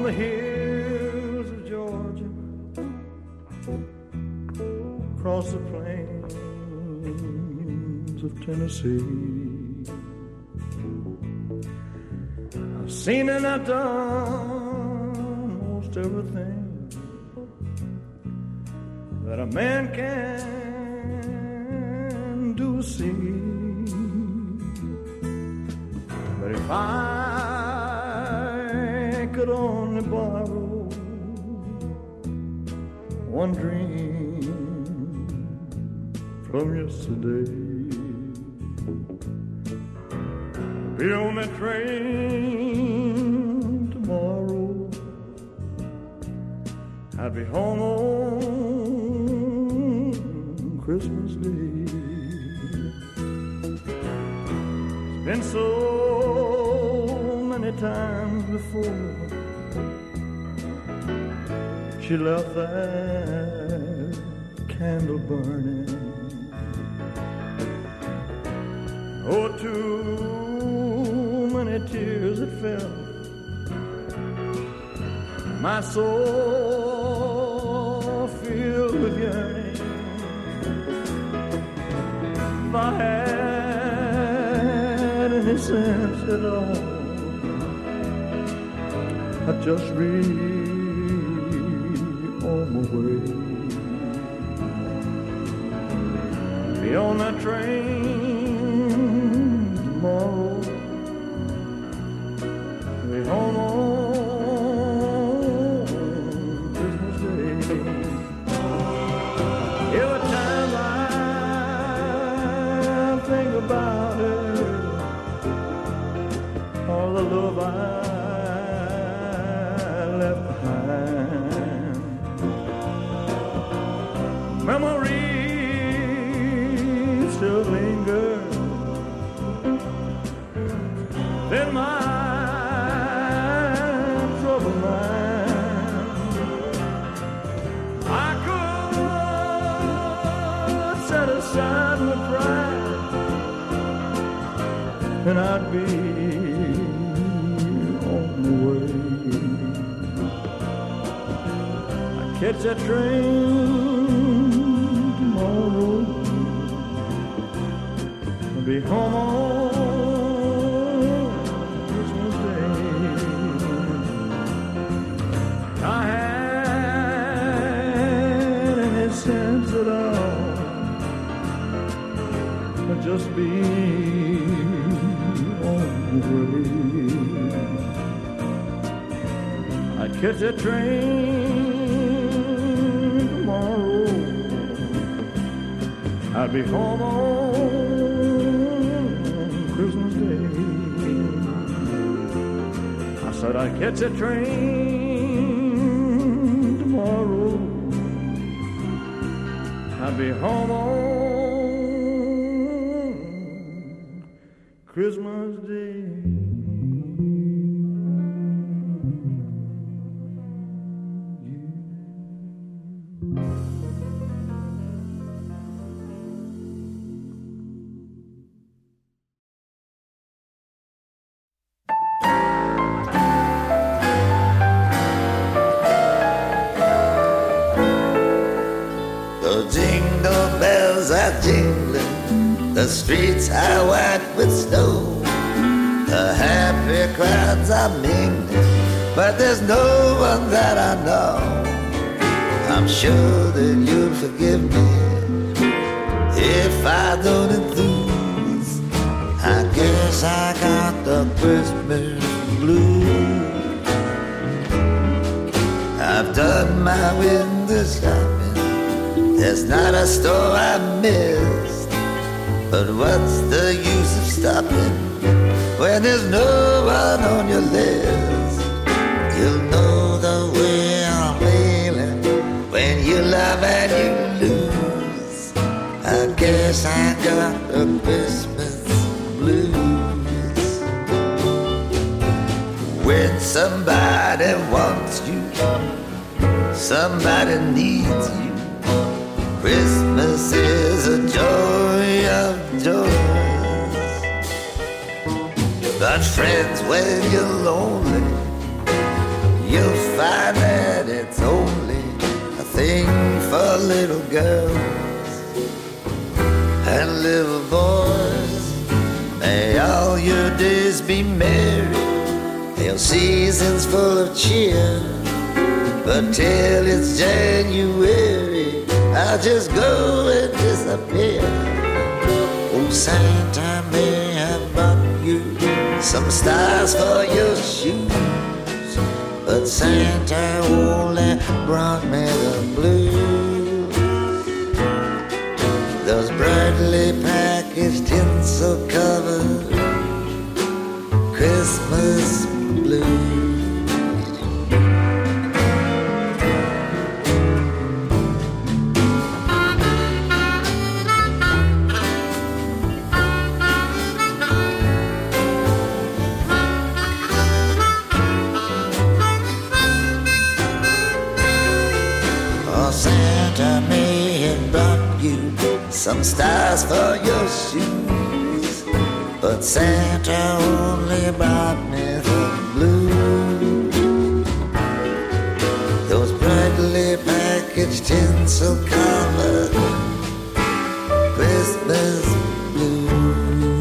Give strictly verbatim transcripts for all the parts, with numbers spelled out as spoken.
the hills of Georgia, across the plains of Tennessee. I've seen and I've done most everything that a man can do, see. But if I could only borrow one dream from yesterday, be on that train tomorrow, I'd be home on Christmas Day. It's been so many times before she left that candle burning. Oh, too many tears that fell, my soul filled with yearning. If I had any sense at all, I'd just be on my way. Be on that train tomorrow, be home on Christmas Day. Every time I think about her, all the love I left behind, memories still linger in my troubled mind. I could set aside my pride, and I'd be on the way. I'd catch that train tomorrow, I'll be home on Christmas Day. I had any sense at all, I'd just be on the way. I'd catch that train tomorrow, I'd be home on Christmas Day. I said I'd catch a train tomorrow, I'd be home on Christmas Day. The streets are white with snow, the happy crowds are mingling, but there's no one that I know. I'm sure that you'll forgive me if I don't enthuse. I guess I got the Christmas blues. I've done my window shopping, there's not a store I missed. But what's the use of stopping when there's no one on your list? You'll know the way I'm feeling when you love and you lose. I guess I got the Christmas blues. When somebody wants you, somebody needs you, Christmas is a joy of joys. But friends, when you're lonely, you'll find that it's only a thing for little girls and little boys. May all your days be merry, hail seasons full of cheer. But till it's January, I'll just go and disappear. Oh, Santa may have bought you some stars for your shoes, but Santa only brought me the blues. Those brightly packaged tinsel covered Christmas blues. Santa may have brought you some stars for your shoes, but Santa only brought me the blues. Those brightly packaged tinsel covered Christmas blues.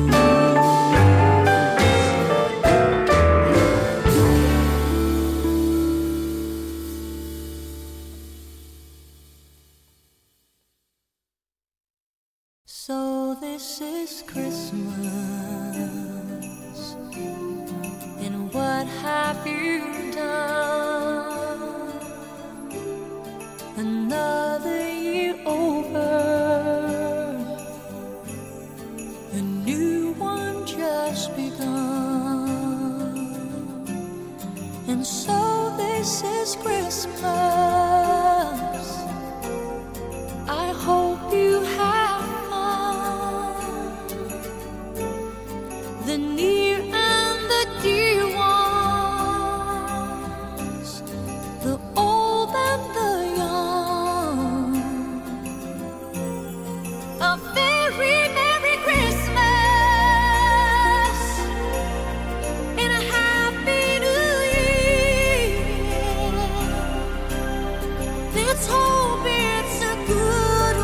So this is Christmas, and what have you done? Another year over, a new one just begun. And so this is Christmas. I hope you have the near and the dear ones, the old and the young. A very Merry Christmas and a Happy New Year. Let's hope it's a good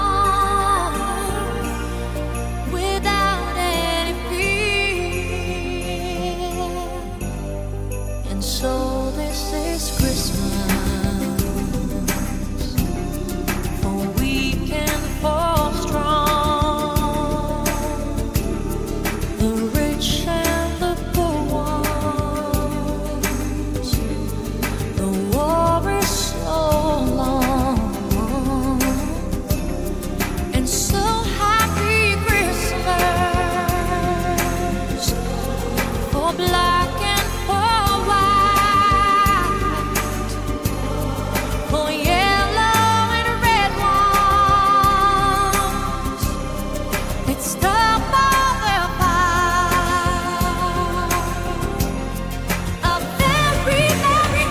one without any fear. And so this is Christmas, for we can fall strong, the rich and the poor ones. The war is so long, and so happy Christmas for black and for white, for yellow and red ones. It's the mother fight. A very Merry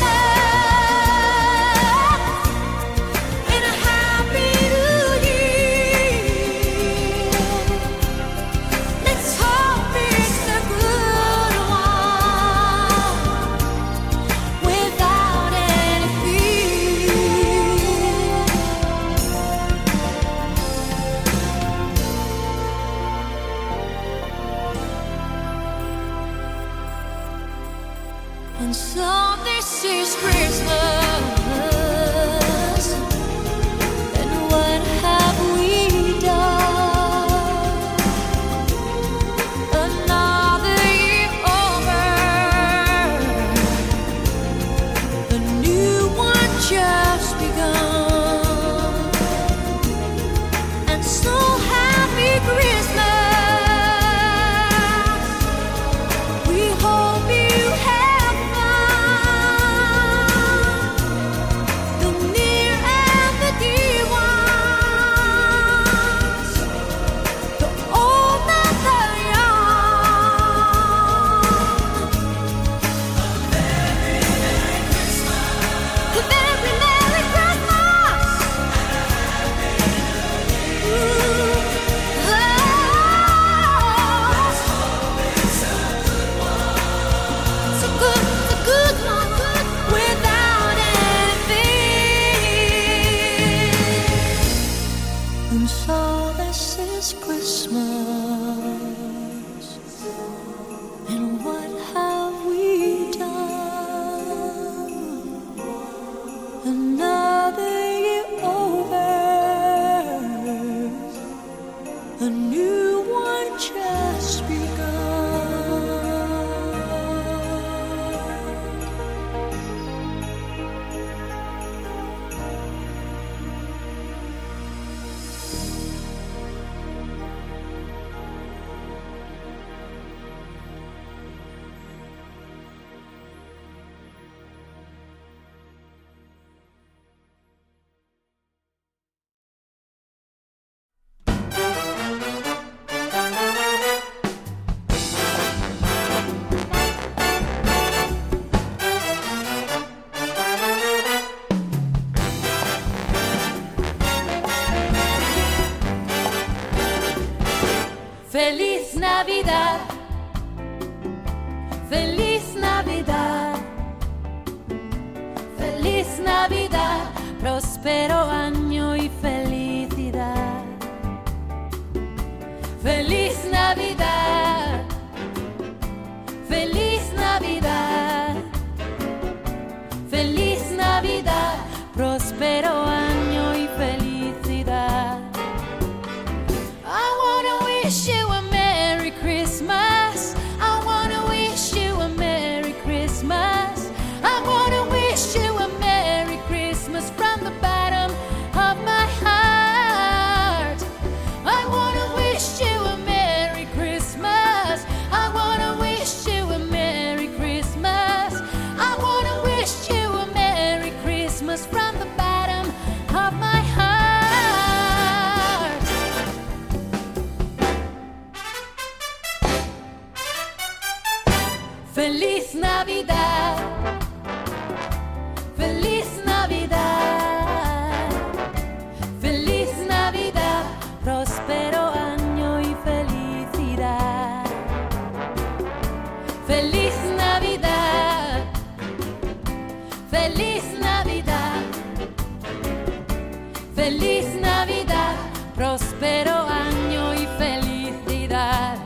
Christmas and a Happy New Year. Let's hope it's a good one without any fear. And so this is Christmas, and what have we done? Another year over, a new one just begun. And so happy Christmas, we hope you have fun And so this is Christmas. And what have we done? Another year over, a new one just begun. Feliz Navidad, feliz Navidad, feliz Navidad, próspero año y felicidad. Feliz Navidad, feliz Navidad, feliz Navidad, próspero año y felicidad. I wanna wish you a Merry Christmas. I wanna wish you a Merry Christmas. I wanna wish you a Merry Christmas from the bottom of my heart. I wanna wish you a Merry Christmas. I wanna wish you a Merry Christmas. I wanna wish you a Merry Christmas from the bottom of my heart. Feliz Navidad, feliz Navidad, feliz Navidad, próspero año y felicidad. Feliz Navidad, feliz Navidad, feliz Navidad, próspero año y felicidad.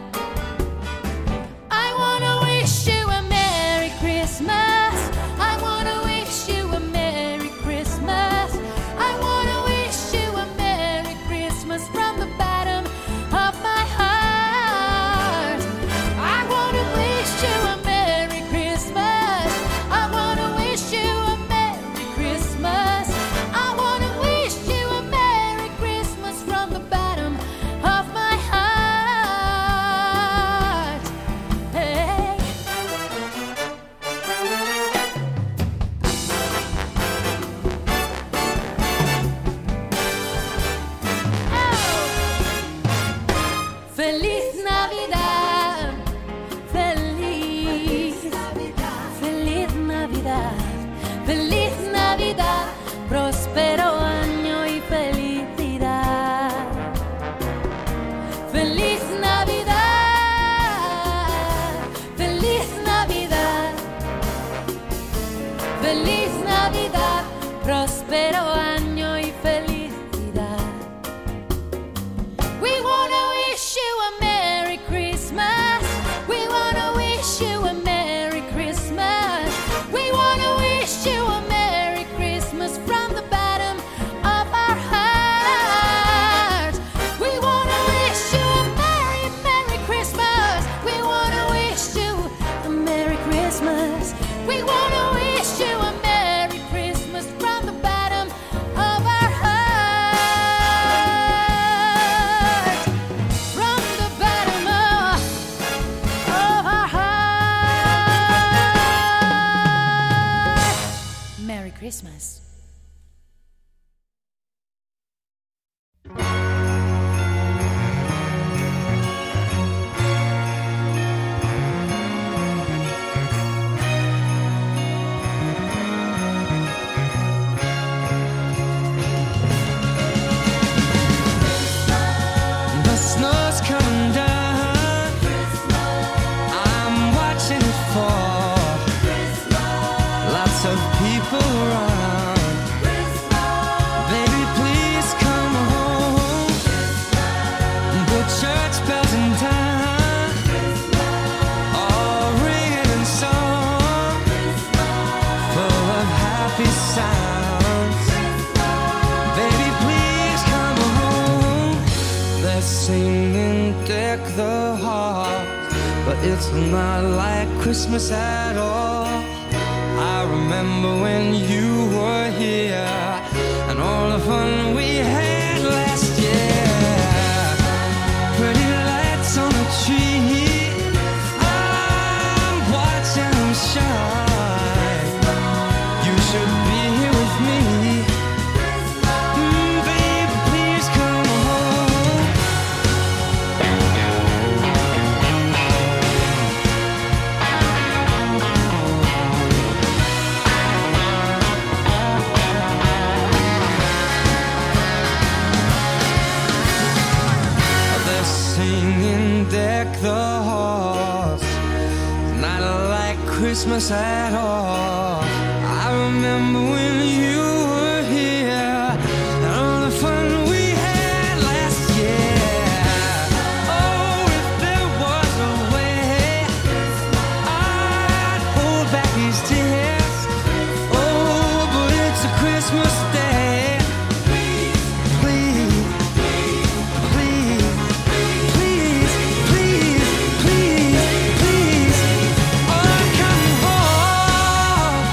I wanna wish you a Merry Christmas. I wanna wish you a Merry Christmas. I wanna wish you a Merry Christmas from the bottom of my heart. I wanna wish you a Merry Christmas. I wanna wish you a Merry Christmas. I wanna wish you a Merry Christmas from the bottom of my heart. Hey. Feliz Navidad, feliz, feliz Navidad, feliz Navidad, próspero año y felicidad. Feliz Navidad, feliz Navidad, feliz Navidad, próspero año y felicidad. We wanna wish you a Merry Christmas. We wanna wish you a Merry Christmas. We wanna wish you a Merry Christmas from the bottom of our heart. We wanna wish you a Merry they're singing deck the halls, but it's not like Christmas at all. I remember when you were here and all the fun we had last year. Pretty lights on the tree, I'm watching them shine. You should be here with me. Mm, baby, please come home. They're singing deck the halls, not like Christmas at all. I remember when you were here and all the fun we had last year. Oh, if there was a way I'd hold back these tears. Oh, but it's a Christmas day. Please, please, please, please, please, please, oh, come home.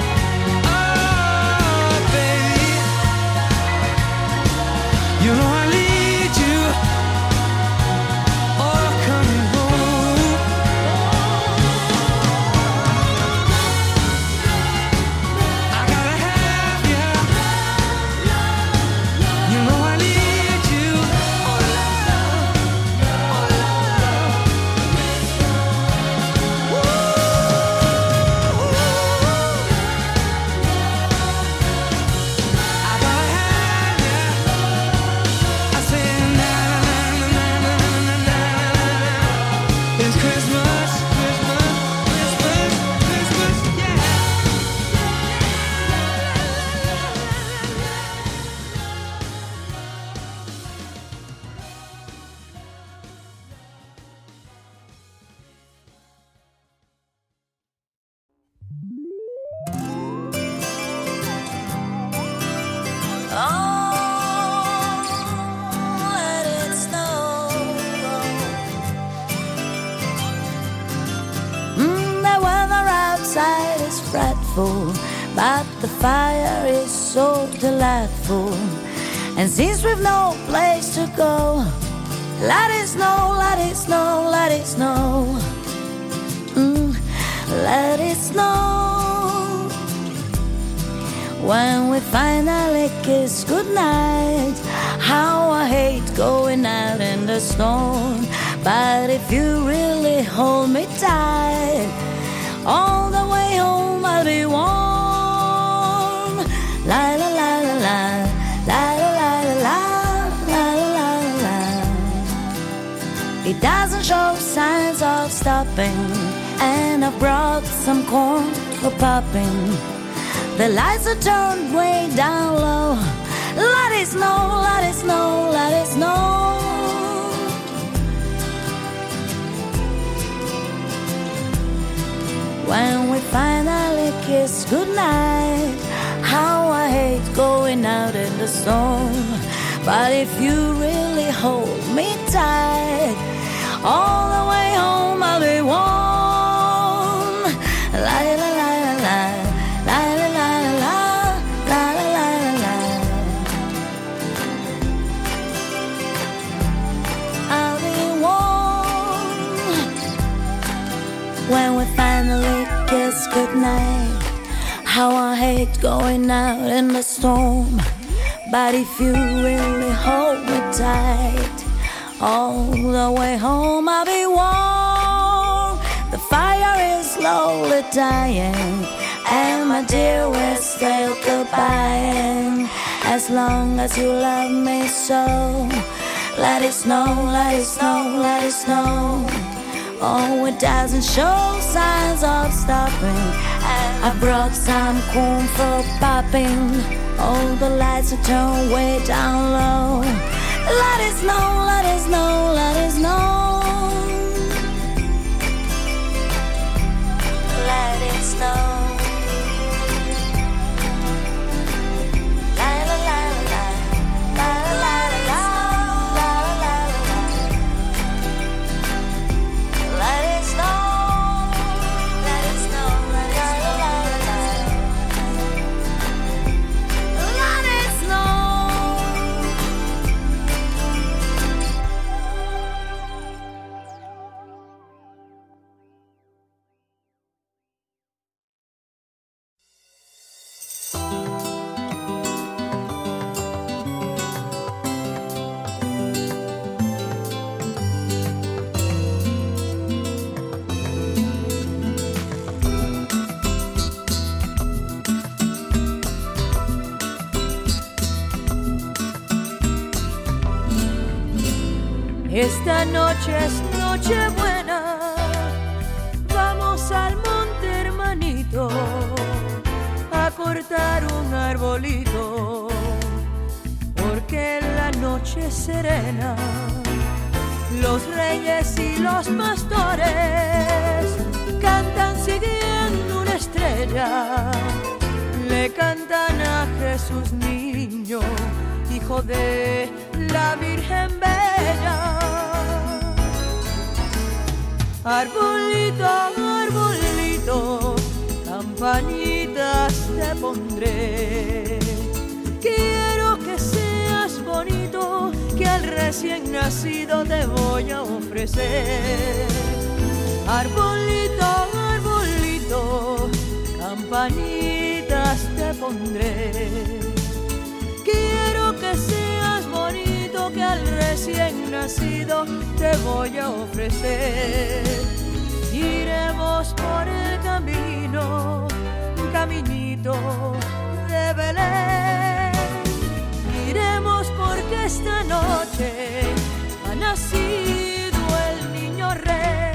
Oh, baby, you know I need you. Oh, come home. I gotta have you. You know I need you. Oh, love, oh, love. Woo. I gotta have you. I say na na na na na na na na. It's Christmas, Christmas, Christmas, Christmas, yeah. Oh, let it snow. Mm, the weather outside is frightful, but the fire is so delightful. And since we've no place to go, let it snow, let it snow, let it snow. Mm, let it snow. When we finally kiss goodnight, how I hate going out in the snow. But if you really hold me tight, all the way home I'll be warm. La la la la la, la la la la la, la la la. It doesn't show signs of stopping, and I brought some corn for popping. The lights are turned way down low. Let it snow, let it snow, let it snow. When we finally kiss goodnight, how I hate going out in the snow. But if you really hold me tight, all the way home I'll be warm. La la la la la, la la la la, la la la la la. I'll be warm when we finally kiss goodnight. How I hate going out in the storm. But if you really hold me tight, all the way home I'll be warm. The fire is slowly dying, and my dear, we're still goodbye. As long as you love me so, let it snow, let it snow, let it snow. Oh, it doesn't show signs of stopping. I brought some corn for popping. All the lights are turned way down low. Let it snow, let it snow, let it snow. Let it snow. La la la la, la la la la, la la la la. Esta noche es noche buena, vamos al monte, hermanito, a cortar un arbolito, porque la noche es serena. Los reyes y los pastores cantan siguiendo una estrella, le cantan a Jesús niño, hijo de la Virgen Bella. Arbolito, arbolito, campanitas te pondré. Quiero que seas bonito, que al recién nacido te voy a ofrecer. Arbolito, arbolito, campanitas te pondré. Quiero que seas bonito, que al recién nacido te voy a ofrecer. Iremos por el camino, un caminito de Belén. Iremos porque esta noche ha nacido el niño rey.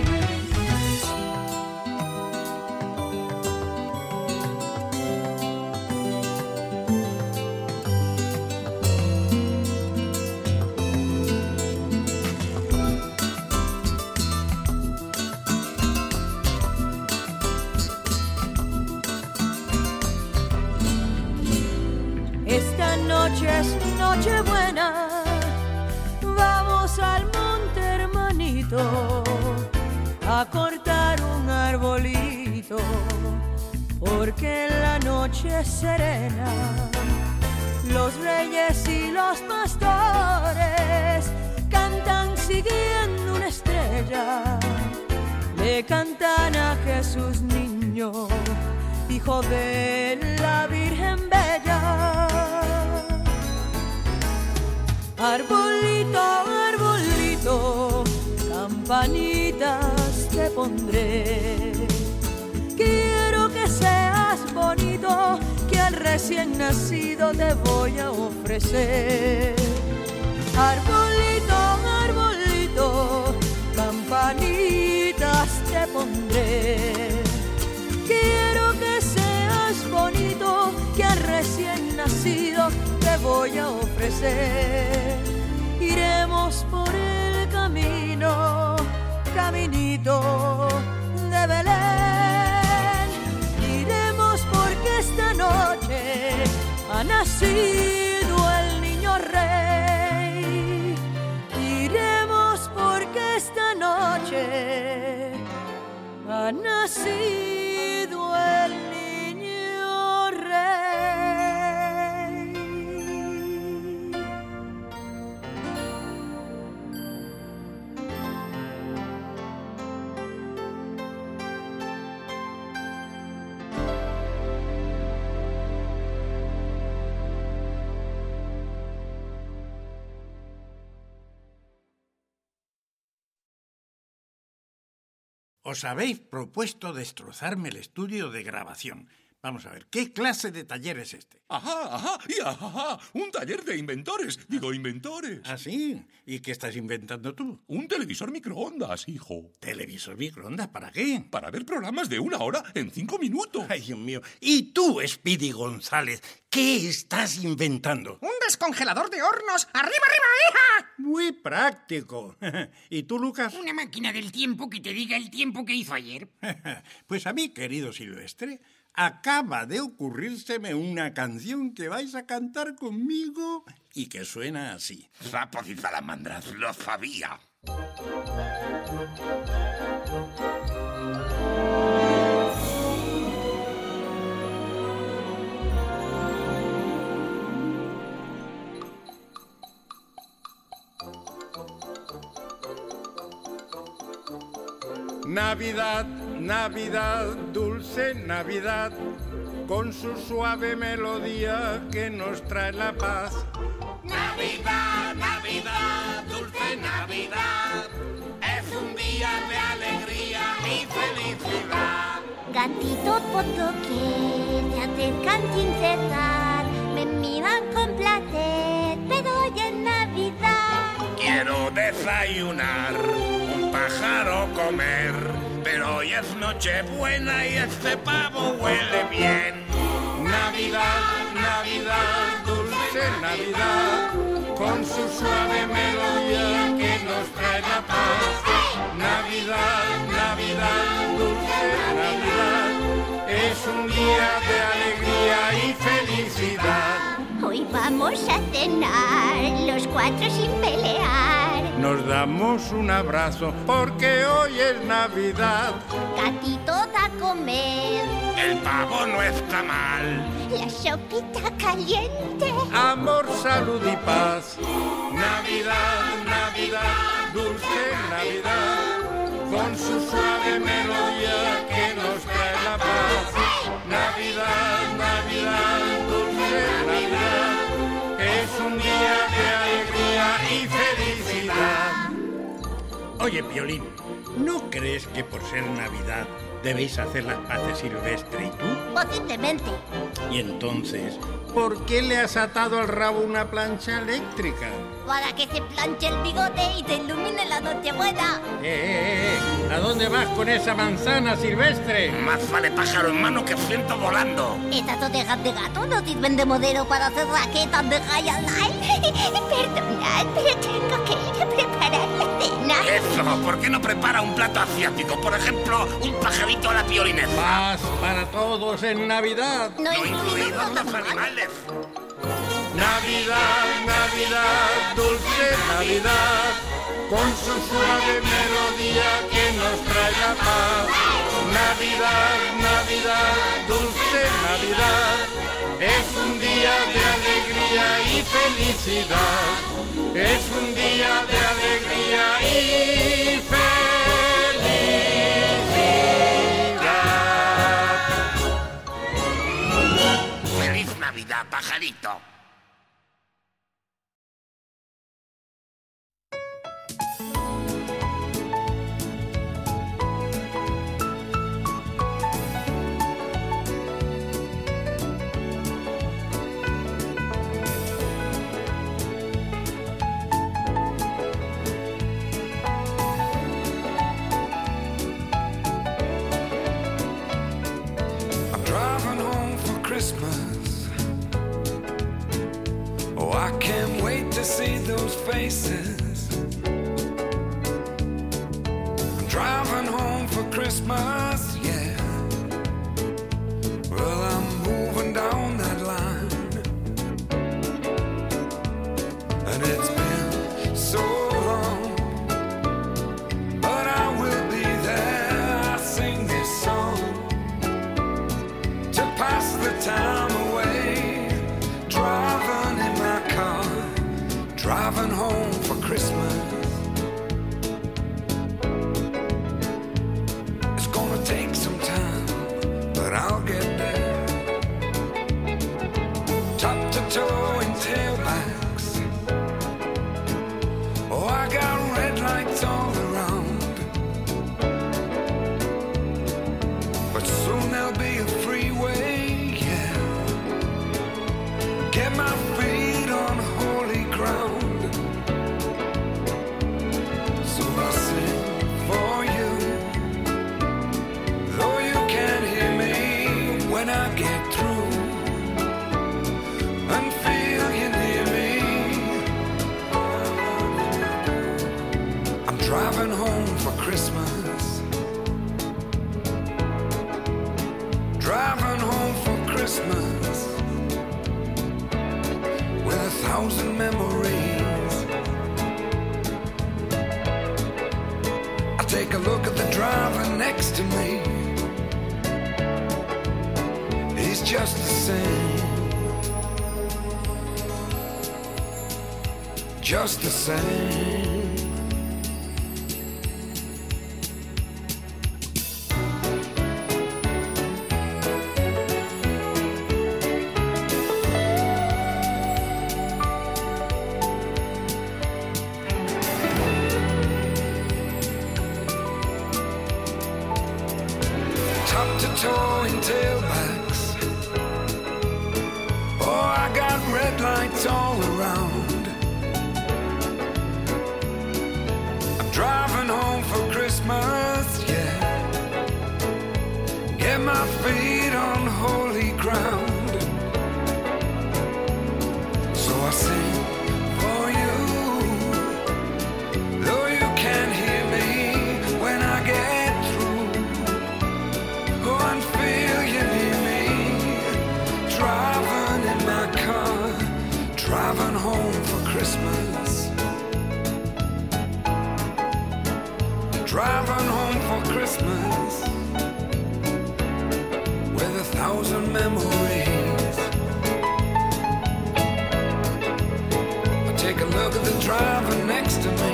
Esta noche es noche buena, vamos al monte, hermanito, a cortar un arbolito, porque la noche es serena. Los reyes y los pastores cantan siguiendo una estrella, le cantan a Jesús niño, hijo de la Virgen Bella. Arbolito, arbolito, campanitas te pondré. Quiero que seas bonito, que al recién nacido te voy a ofrecer. Arbolito, arbolito, campanitas te pondré. Quiero que seas bonito, que al recién nacido te voy a ofrecer. Iremos por el camino, caminito de Belén. Iremos porque esta noche ha nacido el niño rey. Iremos porque esta noche ha nacido el niño rey. Os habéis propuesto destrozarme el estudio de grabación. Vamos a ver, ¿qué clase de taller es este? Ajá, ajá, y ajá, un taller de inventores. Digo, inventores. ¿Ah, sí? ¿Y qué estás inventando tú? Un televisor microondas, hijo. ¿Televisor microondas para qué? Para ver programas de una hora en cinco minutos. Ay, Dios mío. ¿Y tú, Speedy González, qué estás inventando? ¡Un descongelador de hornos! ¡Arriba, arriba, hija! Muy práctico. ¿Y tú, Lucas? Una máquina del tiempo que te diga el tiempo que hizo ayer. Pues a mí, querido Silvestre, acaba de ocurrírseme una canción que vais a cantar conmigo y que suena así. Sapos y salamandras, lo sabía. Navidad, Navidad, dulce Navidad, con su suave melodía que nos trae la paz. Navidad, Navidad, dulce Navidad, es un día de alegría y felicidad. Gatitos por doquier se acercan sin cesar, me miran con placer, pero hoy es Navidad. Quiero pavo desayunar, un pájaro comer. Pero hoy es Nochebuena y este pavo huele bien. Navidad, Navidad, dulce Navidad, con su suave melodía que nos trae la paz. Navidad, Navidad, dulce Navidad, es un día de alegría y felicidad. Hoy vamos a cenar los cuatro sin pelear. Nos damos un abrazo porque hoy es Navidad. Gatitos a comer. El pavo no está mal. La sopita caliente. Amor, salud y paz. Navidad, Navidad, dulce Navidad, con su suave melodía que nos trae la paz. Navidad, Navidad, dulce Navidad, es un día de alegría y felicidad. Oye, Piolín, ¿no crees que por ser Navidad debéis hacer las paces Silvestre y tú? Posiblemente. Y entonces, ¿por qué le has atado al rabo una plancha eléctrica? Para que se planche el bigote y se ilumine la Nochebuena. Eh, eh, eh, ¿a dónde vas con esa manzana, Silvestre? Más vale pájaro en mano que ciento volando. Estas orejas de gato no sirven de modelo para hacer raquetas de High Life. Perdonad, pero tengo que ir a preparar la cena. Eso, ¿por qué no prepara un plato asiático? Por ejemplo, un pajarito a la piolinesa. Paz para todos en Navidad. No, No incluidos incluidos los los animales. Navidad, Navidad, dulce Navidad, con su suave melodía que nos trae la paz. Navidad, Navidad, dulce Navidad, es un día de alegría y felicidad. Es un día de alegría y felicidad. ¡Feliz Navidad, pajarito! Oh, I can't wait to see those faces. I'm driving home for Christmas, yeah. Well, I'm moving down that line, and it's been so long, but I will be there. I sing this song to pass the time away, driving in my car, driving home for Christmas. It's gonna take some time, but I'll get there. Top to toe in tailbacks. Oh, I got red lights all around, but soon there'll be a freeway, yeah. Get my feet on holy ground. So I sing for you, though you can't hear me when I get through, and feel you near me. I'm driving home for Christmas, driving home for Christmas, with a thousand memories. I take a look at the driver next to me. He's just the same, just the same. Top to toe in tailbacks. Oh, I got red lights all around, Set my feet on holy ground. So I sing for you. Though you can't hear me when I get through, go and feel you near me. Driving in my car, driving home for Christmas. Driving home for Christmas with a thousand memories. I take a look at the driver next to me.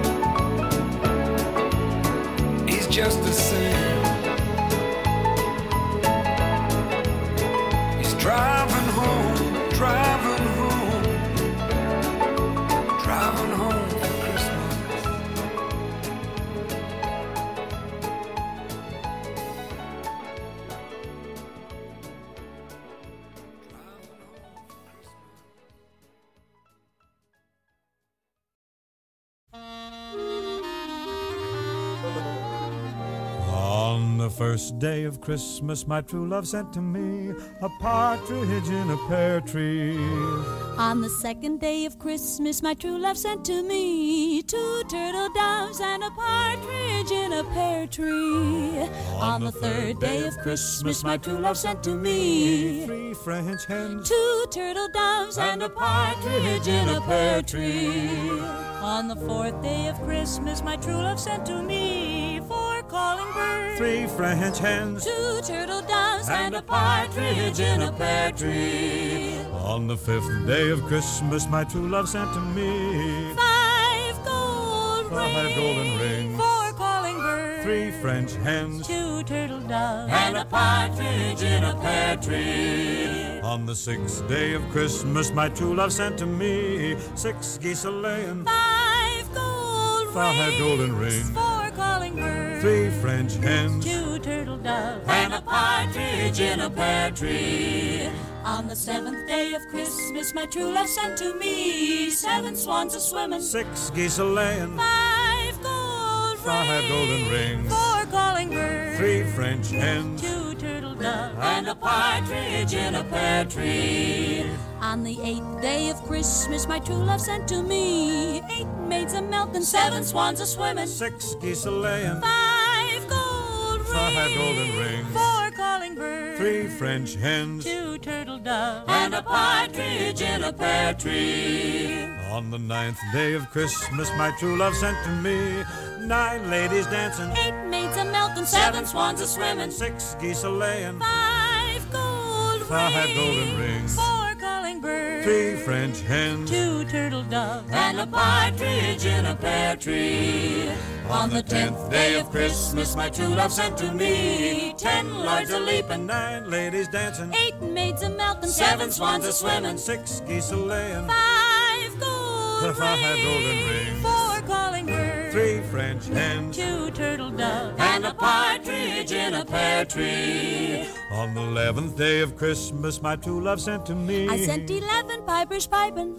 He's just the same. He's driving home, driving home, driving home for Christmas. On the first day of Christmas, my true love sent to me a partridge in a pear tree. On the second day of Christmas, my true love sent to me two turtle doves and a partridge in a pear tree. On the third day of Christmas, my true love sent to me three French hens, two turtle doves and a partridge in a pear tree. On the fourth day of Christmas, my true love sent to me four calling birds, three French hens, two turtle doves and a partridge in a pear tree. On the fifth day of Christmas, my true love sent to me five gold five rings, golden rings, four calling birds, three French hens, two turtle doves and a partridge in a pear tree. On the sixth day of Christmas, my true love sent to me six geese a-laying, five gold five rings, golden rings, four calling birds, three French hens, two turtle doves and a partridge in a pear tree. On the seventh day of Christmas, my true love sent to me seven swans a-swimming, six geese a-laying, five gold five golden rings, four calling birds, three French hens, two turtle doves and a partridge in a pear tree. On the eighth day of Christmas, my true love sent to me eight maids a-milking, seven swans a-swimming, six geese a-laying, five gold five rings, golden rings, four calling birds, three French hens, two turtle doves and a partridge in a pear tree. On the ninth day of Christmas, my true love sent to me nine ladies dancing, eight maids a-milking, seven swans a-swimming, six geese a-laying, five gold five rings, golden rings, four calling birds, three French hens, two turtle doves and a partridge in a pear tree. On the tenth day of Christmas, my true love sent to me ten lords a-leaping, nine ladies dancing, eight maids a-milking, seven swans a-swimming, six geese a-laying, five gold five rings, golden rings, four calling birds, three French hens, two turtle doves and a partridge in a pear tree. On the eleventh day of Christmas, my true love sent to me I sent eleven pipers piping,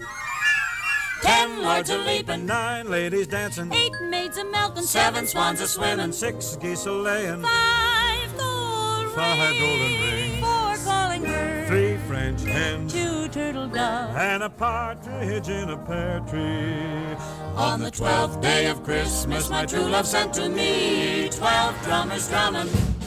ten lords a-leaping, nine ladies dancing, eight maids a-milking, seven swans a-swimming, six geese a-laying, five gold five golden rings, four calling birds, three French hens, two turtle doves and a partridge in a pear tree. On the twelfth day of Christmas, my true love sent to me twelve drummers drumming,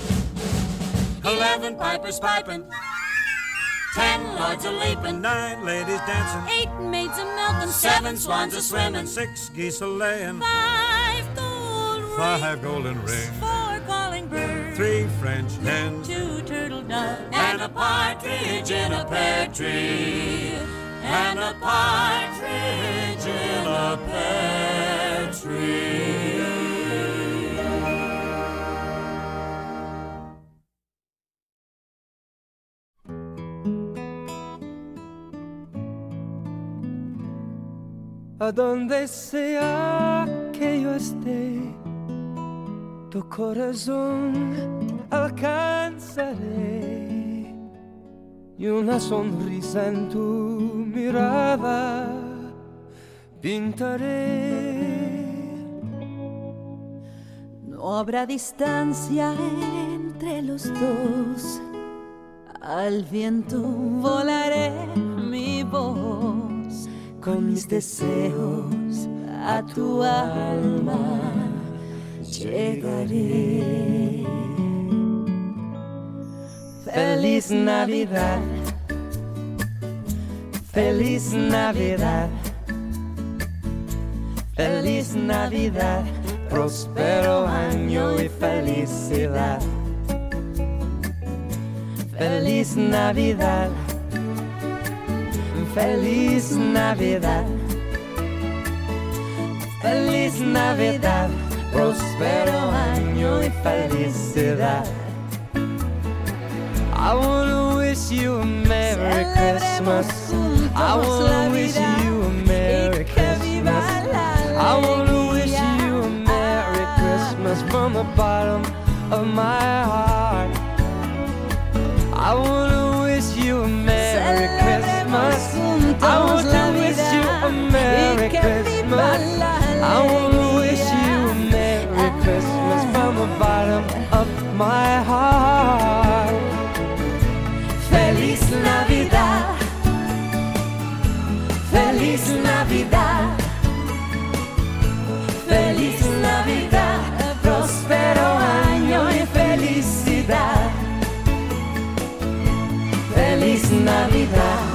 eleven pipers piping, ten lords a-leaping, nine ladies dancing, eight maids a-milking, seven swans a-swimming, six geese a-laying, five gold rings, five golden rings, four calling birds, three French hens, two turtle doves and a partridge in a pear tree, and a partridge in a pear tree. A donde sea que yo esté, tu corazón alcanzaré y una sonrisa en tu mirada pintaré. No habrá distancia entre entre los dos. Al viento volaré mi voz, con mis deseos a tu alma llegaré. Feliz Navidad, feliz Navidad, feliz Navidad, próspero año y felicidad. Feliz Navidad, feliz Navidad, feliz Navidad, próspero año y felicidad. I wanna wish you a Merry Christmas. I wanna wish you a Merry Christmas. I wanna wish you a Merry Christmas from the bottom of my heart. I wanna wish you a Merry Christmas. I want to wish you a Merry Christmas. I wanna wish you a Merry Christmas from the bottom of my heart. Feliz Navidad, feliz Navidad, feliz Navidad, próspero año y felicidad. Feliz Navidad,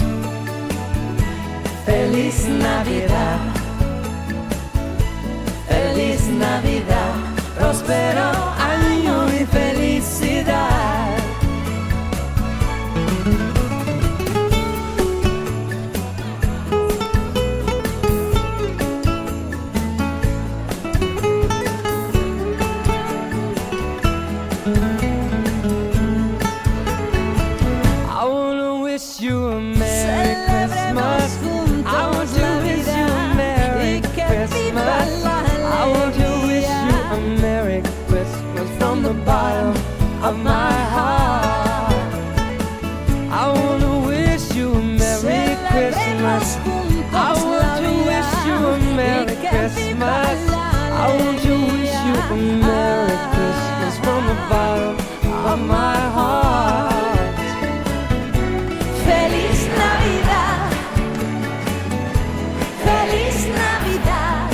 feliz Navidad, feliz Navidad, próspero año y felicidad. Of my heart, I wanna wish you a Merry Christmas. I want to wish you a Merry Christmas. I want to wish you a Merry Christmas from the bottom of my heart. Feliz Navidad, feliz Navidad,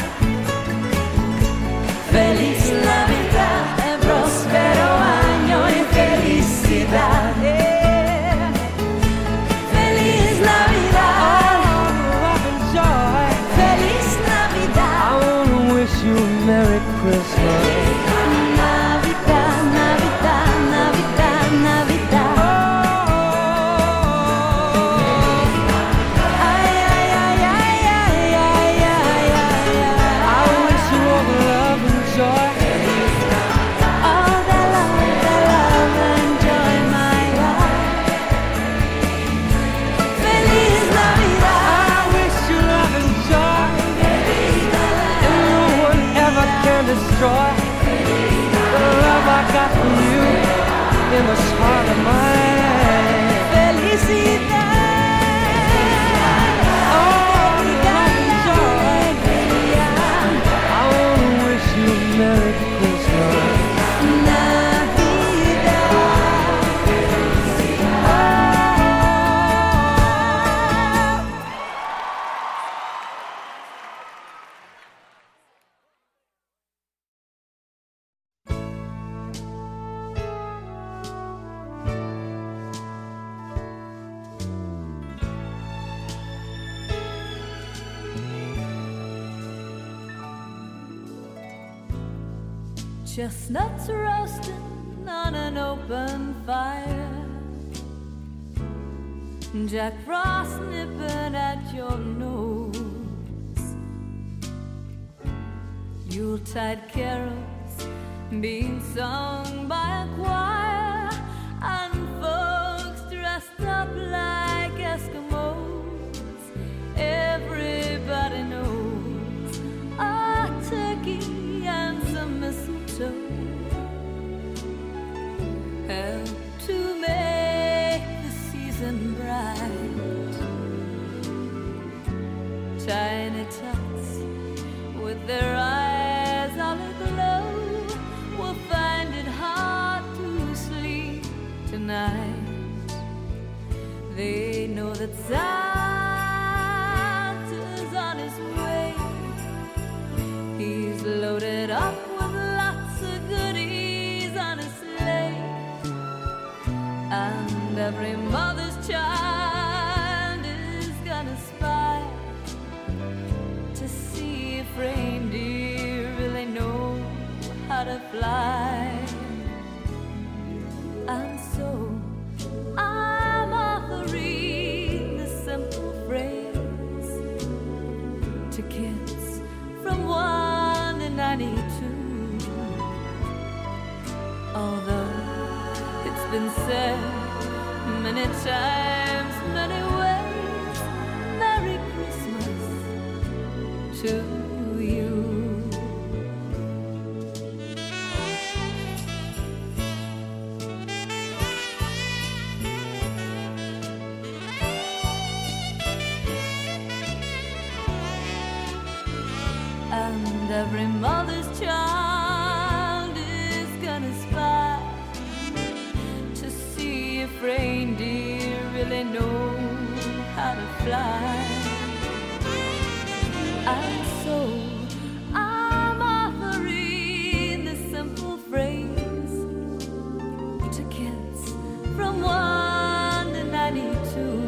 feliz Navidad, próspero año y felicidad. Yeah. Feliz Navidad, oh, joy. Feliz Navidad. I wanna wish you a Merry Christmas. Navidad, Navidad, Navidad, Navidad. Oh, ay, ay, ay, ay, ay, ay, ay, ay. I wish you all the love and joy. Destroy the love I got from you in the heart of mine. Felicidad, oh, love and joy. I wanna wish you a Merry Christmas. Chestnuts roasting on an open fire, Jack Frost nipping at your nose, Yuletide carols being sung by a choir, and folks dressed up like Eskimos. Everybody knows a turkey and some mistletoe help to make the season bright. Tiny tots with their eyes all aglow will find it hard to that Santa's on his way. He's loaded up with lots of goodies on his sleigh, and every mother's child is gonna spy to see if reindeer really know how to fly. And so I'm offering the simple phrase to kids from one to ninety-two. Although it's been said many times, many ways, Merry Christmas to you. And every mother's child is gonna spy to see if reindeer really know how to fly. And so I'm offering the simple phrase to kids from one to ninety-two.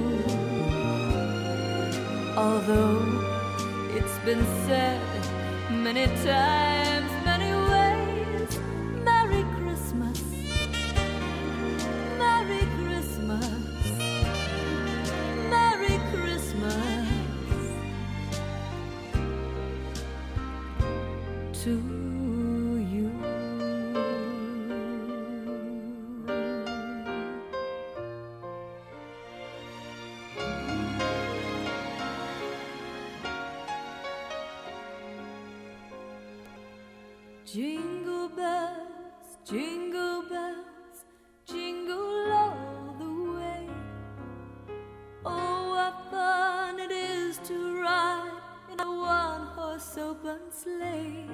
Although it's been said many times, many ways, Merry Christmas, Merry Christmas, Merry Christmas to you. Jingle bells, jingle bells, jingle all the way. Oh, what fun it is to ride in a one-horse open sleigh.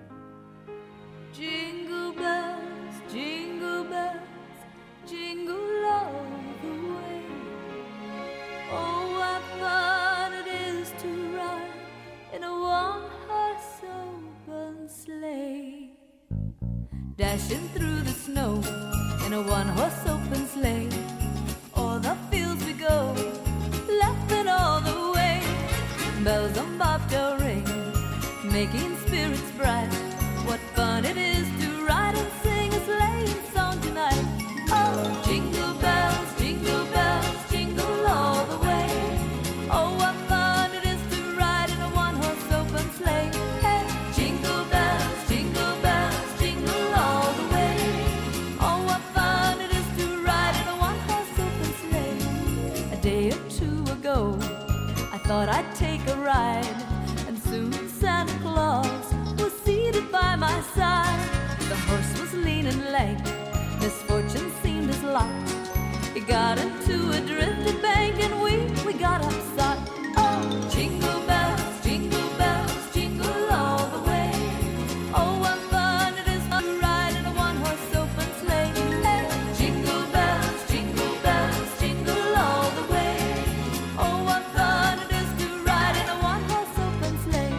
Jingle bells, jingle bells, jingle all the way. Oh, what fun it is to ride in a one-horse open sleigh. Dashing through the snow in a one-horse open sleigh. O'er the fields we go, laughing all the way. Bells on bobtail ring, making spirits bright. What fun it is to ride and sing a sleighing song tonight. Oh, jingle bells, jingle bells, jingle all the way. Oh, what fun it is to ride in a one-horse open sleigh. Hey, jingle bells, jingle bells, jingle all the way. Oh, what fun it is to ride in a one-horse open sleigh. A day or two ago, I thought I'd take a ride, and soon Santa Claus was seated by my side. The horse was lean and lank, misfortune seemed his lot. He got into a drifted bank and we, we got upset. Oh, jingle bells, jingle bells, jingle all the way. Oh, what fun it is to ride in a one-horse open sleigh. Hey, jingle bells, jingle bells, jingle all the way. Oh, what fun it is to ride in a one-horse open sleigh.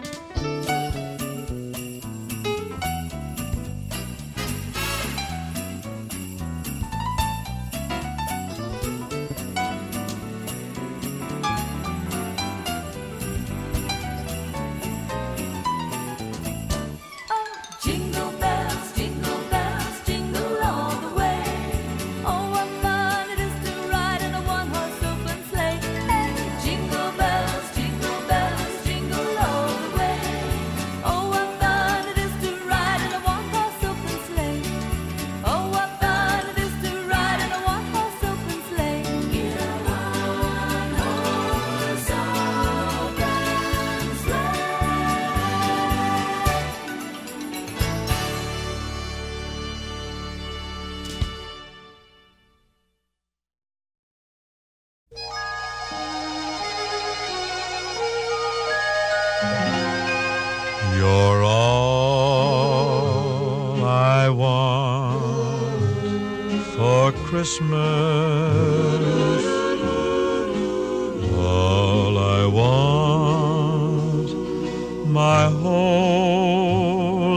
Jingle bells, jingle bells, jingle all the way. Oh, what fun it is to ride in a one-horse open sleigh. Hey, jingle bells, jingle bells, jingle all the way. Oh, what fun it is to ride in a one-horse open sleigh. Oh, what fun it is to ride in a one-horse open sleigh. In a one-horse open sleigh. You're all I want for Christmas.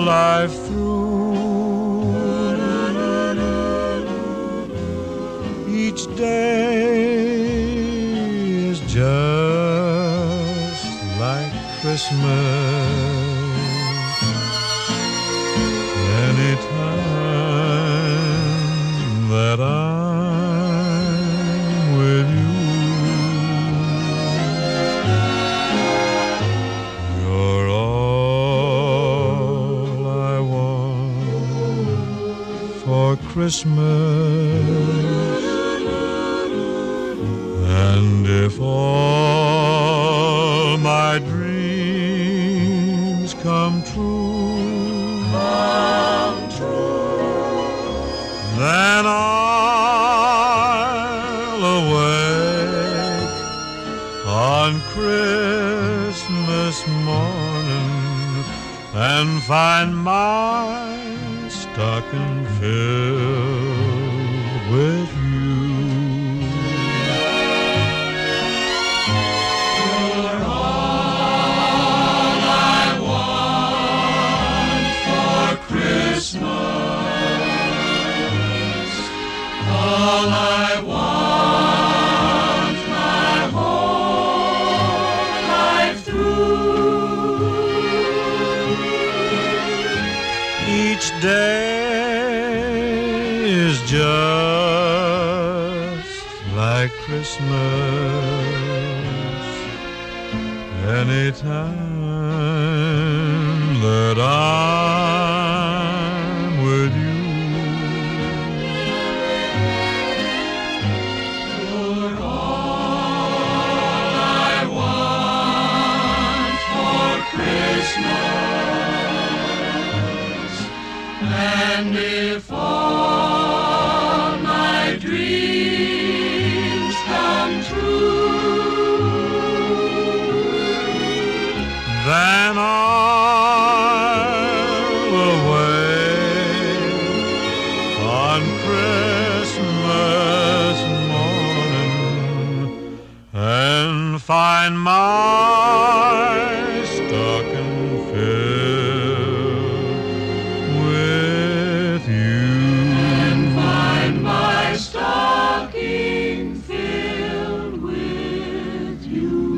life through. Each day is just like Christmas. Anytime that I'm with you, you're all I want for Christmas. And if all my dreams come true, come true, then I'll awake on Christmas morning and find my stocking filled with you. All I want my whole life through. Each day is just like Christmas. Anytime that I'm with you, and if all my dreams come true, then I'll awake on Christmas morning and find my stocking filled with you. And find my stocking filled with you.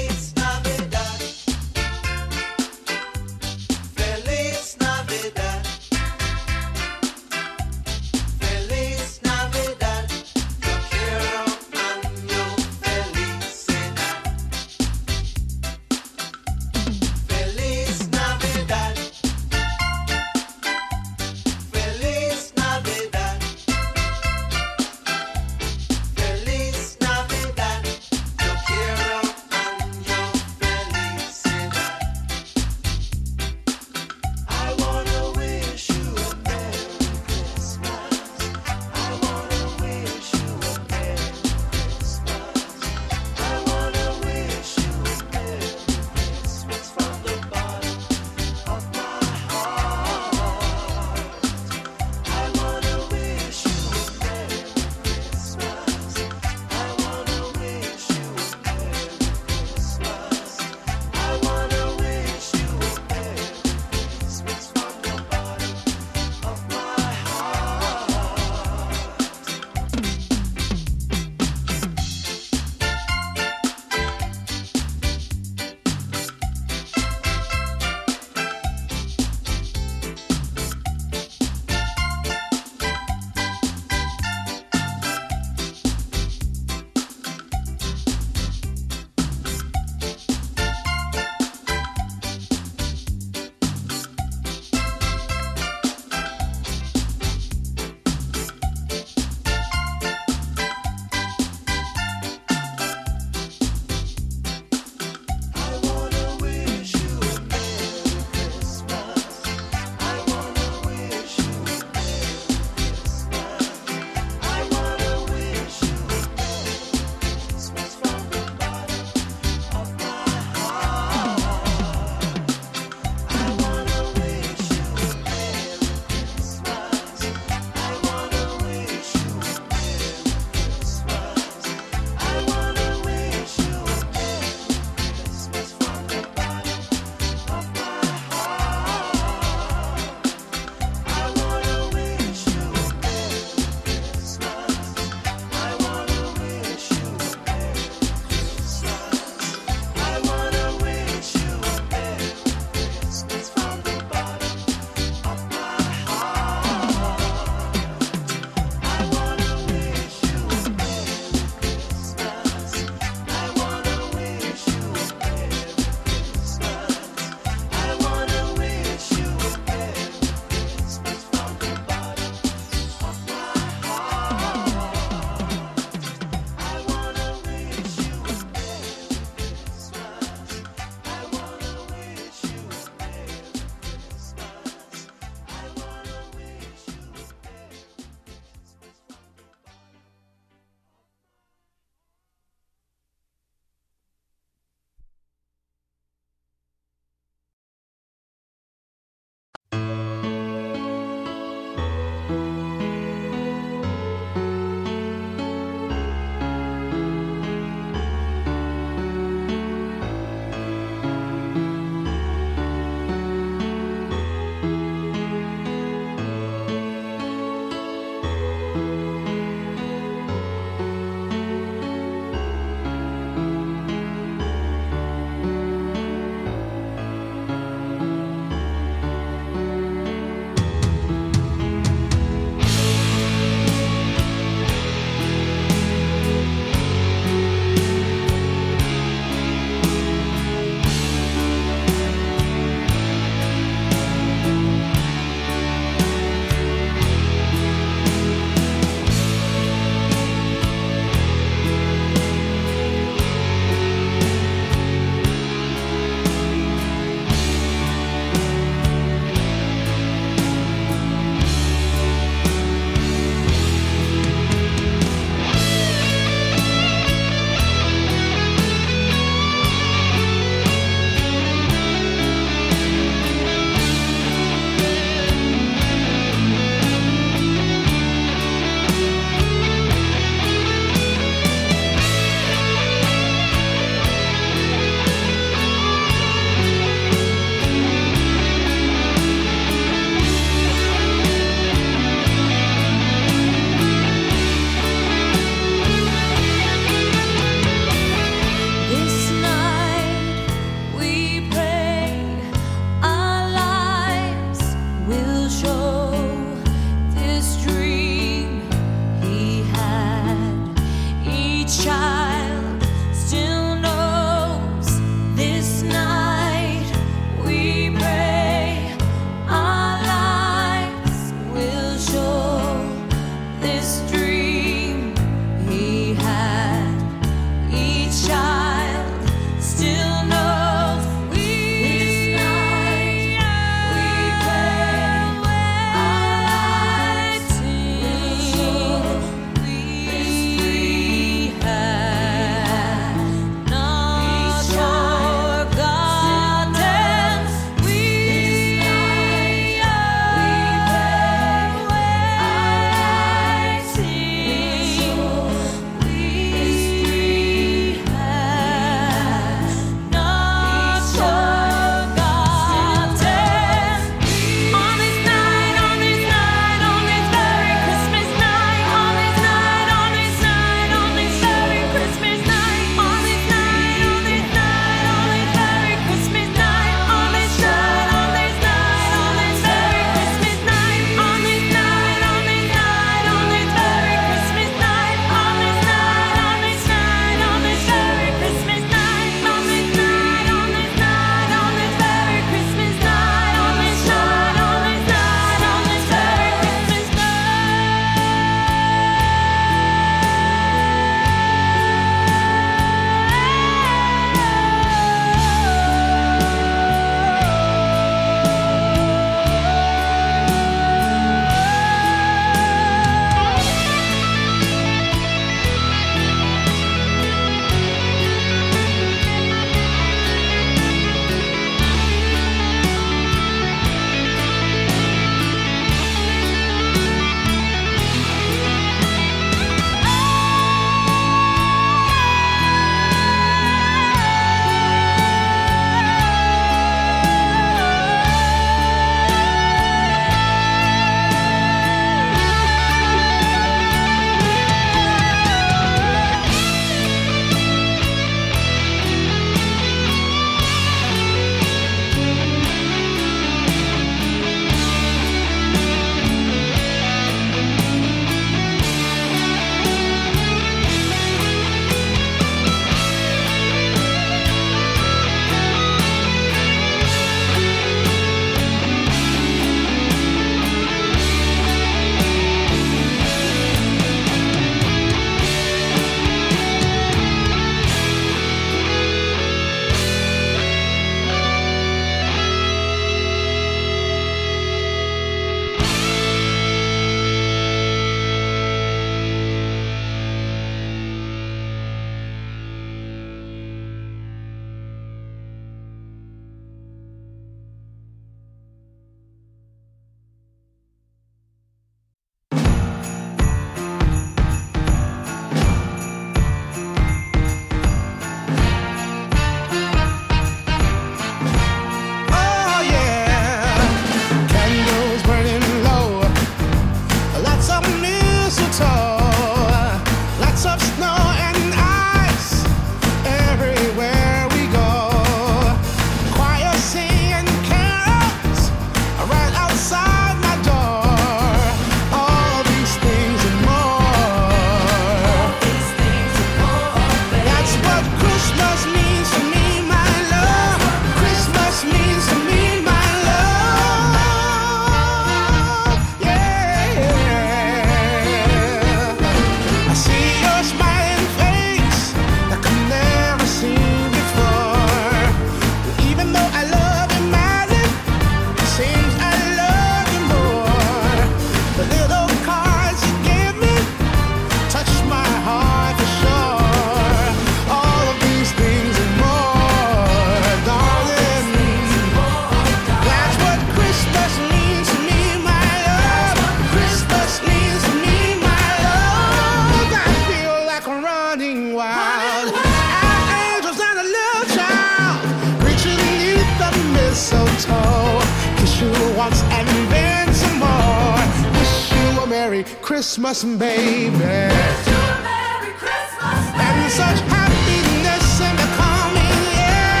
Christmas, baby. Wish you a Merry Christmas, baby. And such happiness in the coming year.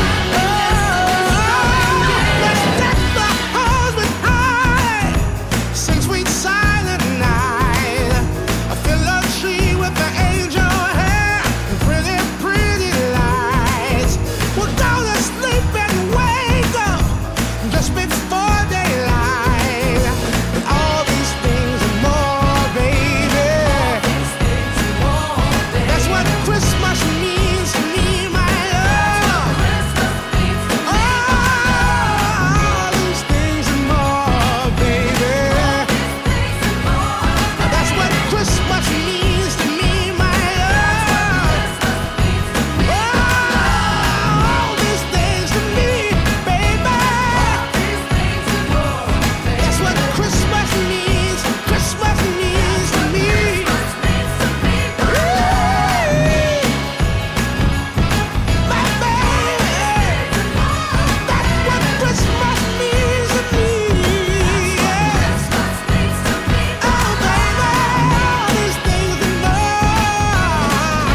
Oh, let's deck the halls with high, sing sweet silent night. I fill a tree with the angel hair and pretty, pretty lights. We're gonna sleep and wake up just before daylight. And all these things and more, baby. That's what Christmas means to me, my love. All these things and more, baby. That's what Christmas means to me, my love. All these things to me, baby. That's what Christmas means. Christmas means to me. My baby. That's what Christmas means to me. Oh, baby. All these things and more.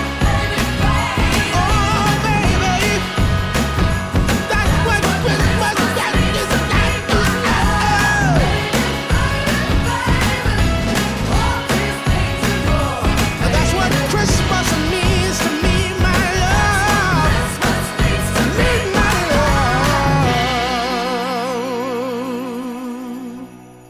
Oh, baby. That's what Christmas that is. That's what Christmas means to me, my love. To me, my love.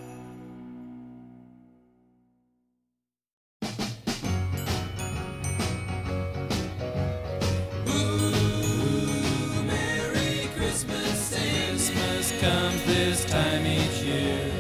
Merry Christmas, Christmas comes this time each year.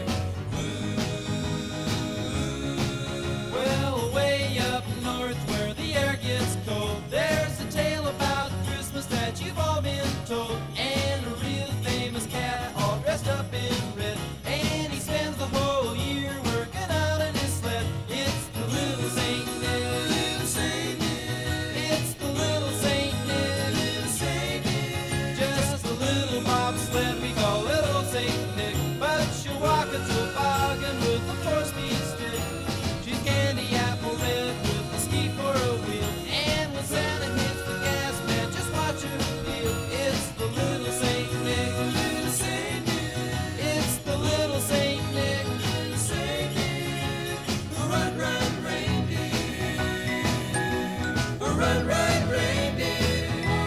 Well, way up north where the air gets cold, there's a tale about Christmas that you've all been told. And a real famous cat all dressed up in red, and he spends the whole year working out in his sled. It's the little Saint Nick, little Saint Nick. It's the little Saint Nick, little Saint Nick. Just a little bobsled we call little Saint Nick, but she'll walk a toboggan with a four-speed stick. She's candy apple red with a ski for a wheel, and when Santa hits the gas, man, just watch her feel. It's the little Saint Nick, little Saint Nick. It's the little Saint Nick, little Saint Nick. Run, run, reindeer. Run, run, reindeer.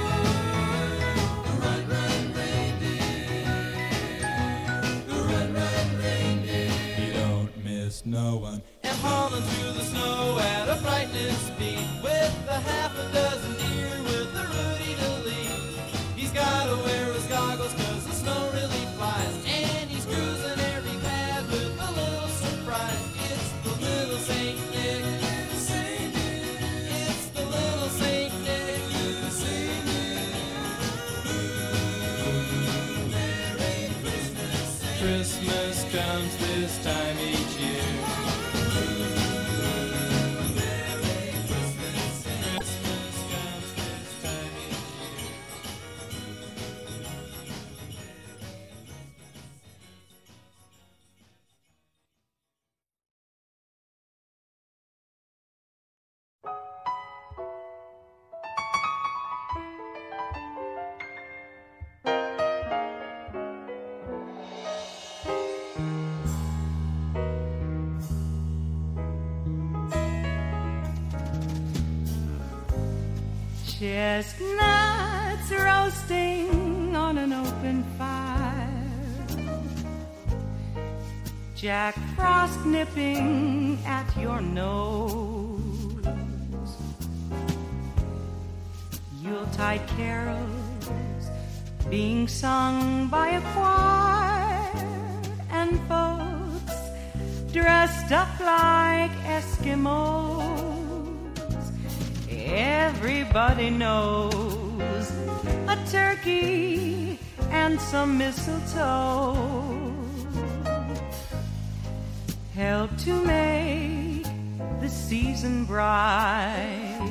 Run, run, reindeer. Run, run, reindeer. You don't miss no one. And hauling through the snow at a frightening speed, with a half a dozen deer with a Rudy to lead. He's gotta wear his goggles 'cause the snow really flies, and he's cruising every path with a little surprise. It's the little Saint Nick, little Saint Nick. It's the little Saint Nick, little Saint Nick. Merry Christmas. Christmas comes this time each year. Merry Christmas. Christmas comes this time each year. Chestnuts roasting on an open fire, Jack Frost nipping at your nose, Yuletide carols being sung by a choir, and folks dressed up like Eskimos. Everybody knows a turkey and some mistletoe help to make the season bright.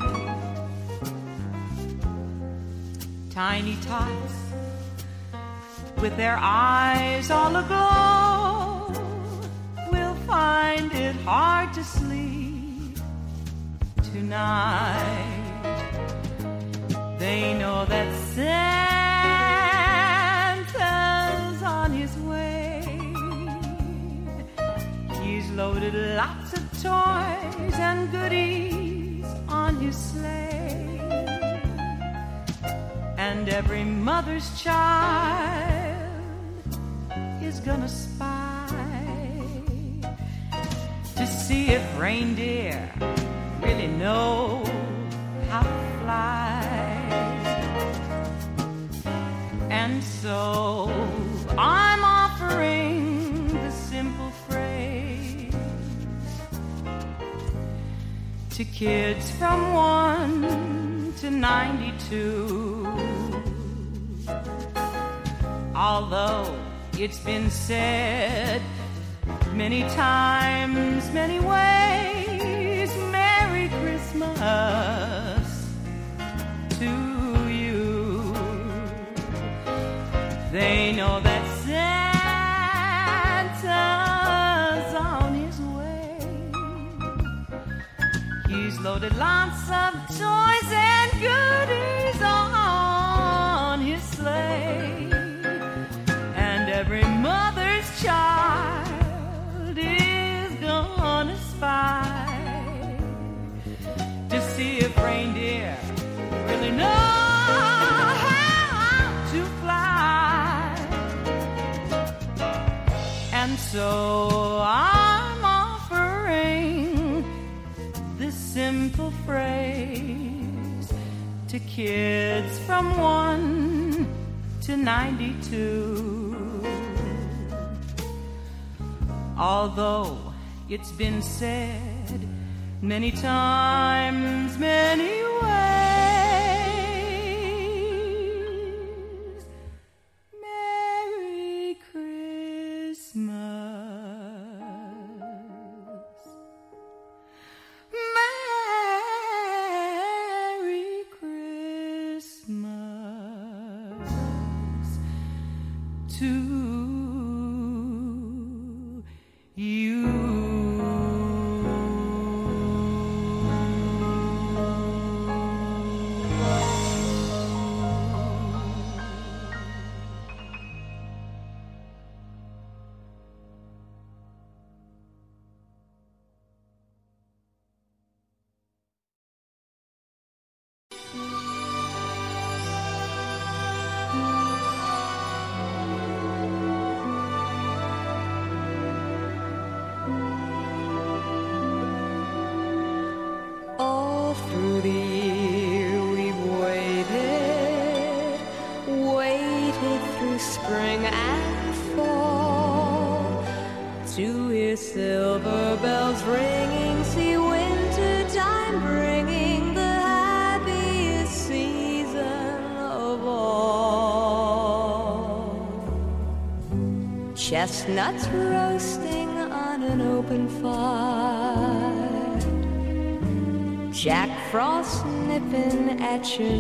Tiny tots with their eyes all aglow will find it hard tonight. They know that Santa's on his way. He's loaded lots of toys and goodies on his sleigh. And every mother's child is gonna spy to see if reindeer really know how to fly. And so I'm offering the simple phrase to kids from one to ninety-two. Although it's been said many times, many ways, Merry Christmas to you. They know that Santa's on his way. He's loaded lots of toys and goodies on his sleigh. And every mother's child is gonna spy to see if reindeer really know how to fly. And so I'm offering this simple phrase to kids from one to ninety-two. Although it's been said many times, many ways, Merry Christmas. Merry Christmas to you. All through the year we've waited, waited through spring and fall, to hear silver bells ringing, see winter time bringing the happiest season of all. Chestnuts roasting on an open fire, Jack Frost nipping at your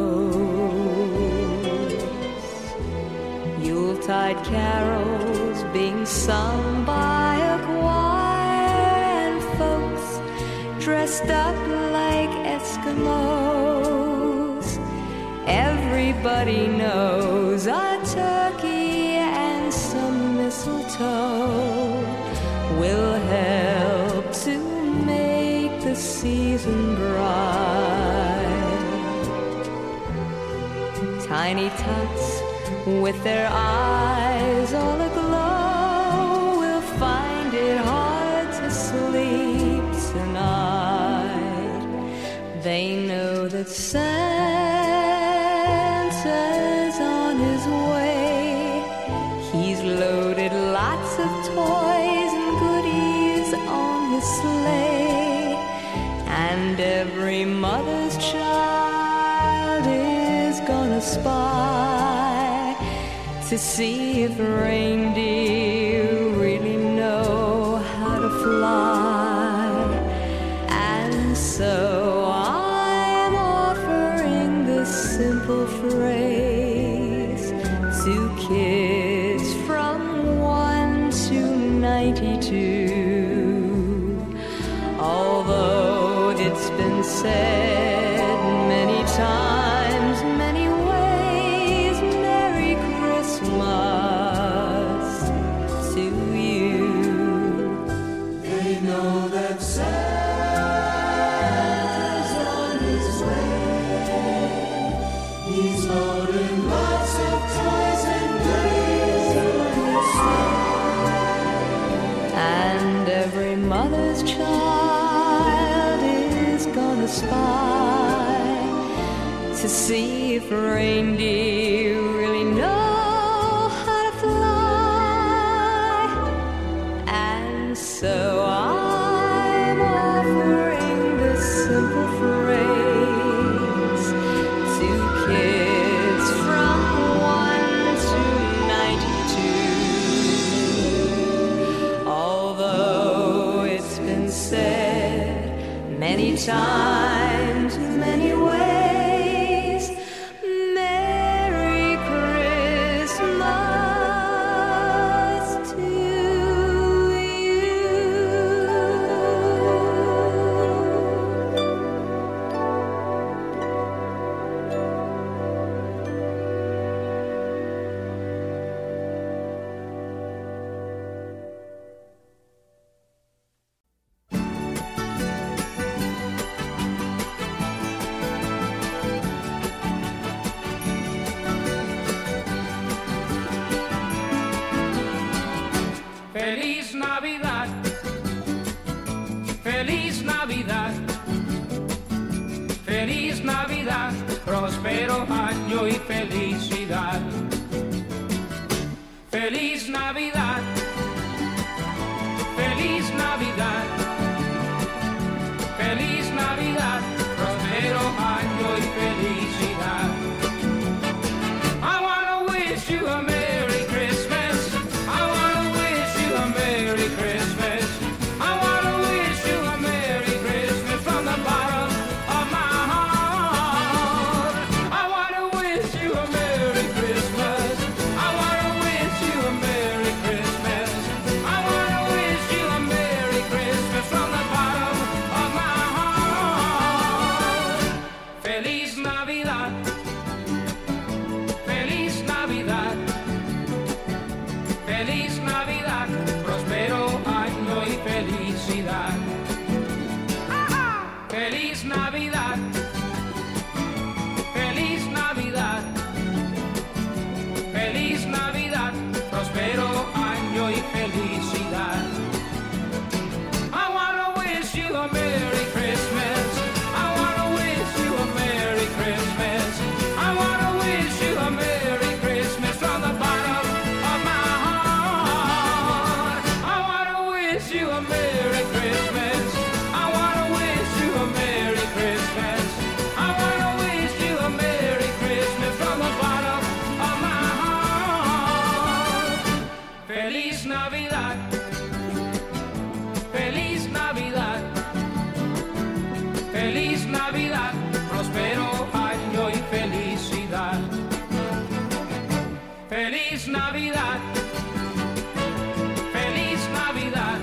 nose, Yuletide carols being sung by a choir, and folks dressed up like Eskimos. Everybody knows a turkey and some mistletoe will help to make the season bright. Tiny tots with their eyes all aglow will find it hard to sleep tonight. They know that Santa's on his way. He's loaded lots of toys and goodies on his sleigh, and every mother's child is gonna spy to see if reindeer really know how to fly. And so I'm offering this simple phrase to kids from one to ninety-two. Although it's been said many times, many ways, Merry Christmas to you. They know that Santa's on his way. He's loading lots of toys and goodies on his sleigh. And every mother's child is gonna spy to see if reindeer really know how to fly. And so I'm offering this simple phrase to kids from one to ninety-two. Although it's been said many times, many ways, Merry Christmas to Feliz Navidad, Feliz Navidad, Feliz Navidad, próspero año y felicidad. Feliz Navidad, Feliz Navidad, Feliz Navidad, próspero año y felicidad. I wanna wish you a Merry Christmas. I wanna wish you a Merry Christmas. I wanna wish you a Merry Christmas from the bottom of my heart. I wanna wish you a Merry Christmas. I wanna wish you a Merry Christmas. I wanna wish you a Merry Christmas from the bottom of my heart. Feliz Navidad. Feliz Navidad. Feliz Navidad, próspero año y felicidad. Feliz Navidad, Feliz Navidad, Feliz Navidad, próspero año y felicidad. I wanna wish you a Merry Christmas. I wanna wish you a Merry Christmas. I wanna wish you a Merry Christmas from the bottom of my heart. I wanna wish you a Merry Christmas. I wanna wish you a Merry Christmas. I wanna wish you a Merry Christmas from the bottom of my heart. Feliz Navidad. Feliz Navidad. Feliz Navidad, próspero año y felicidad. Feliz Navidad. Feliz Navidad.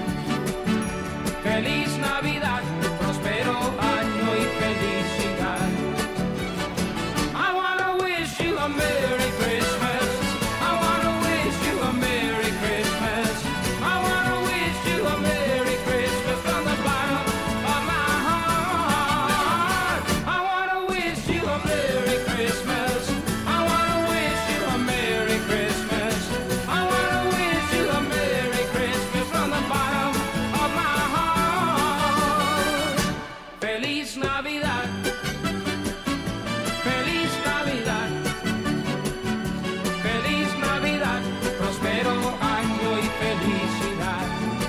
Feliz Navidad, próspero año y felicidad. I wanna wish you a Merry Christmas. I wanna wish you a Merry Christmas. I wanna wish you a Merry Christmas from the bottom of my heart. I wanna wish you a Merry Christmas. I wanna wish you a Merry Christmas. I wanna wish you a Merry Christmas from the bottom of my heart. Feliz Navidad. Feliz Navidad. Feliz Navidad, próspero año y felicidad.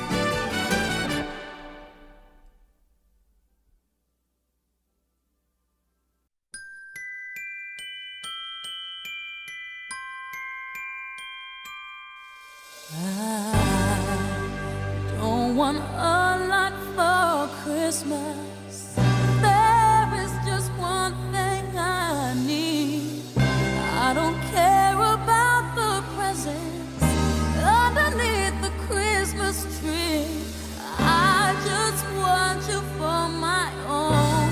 I don't want a lot for Christmas. There is just one thing I need. I don't care about the presents underneath the Christmas tree. I just want you for my own.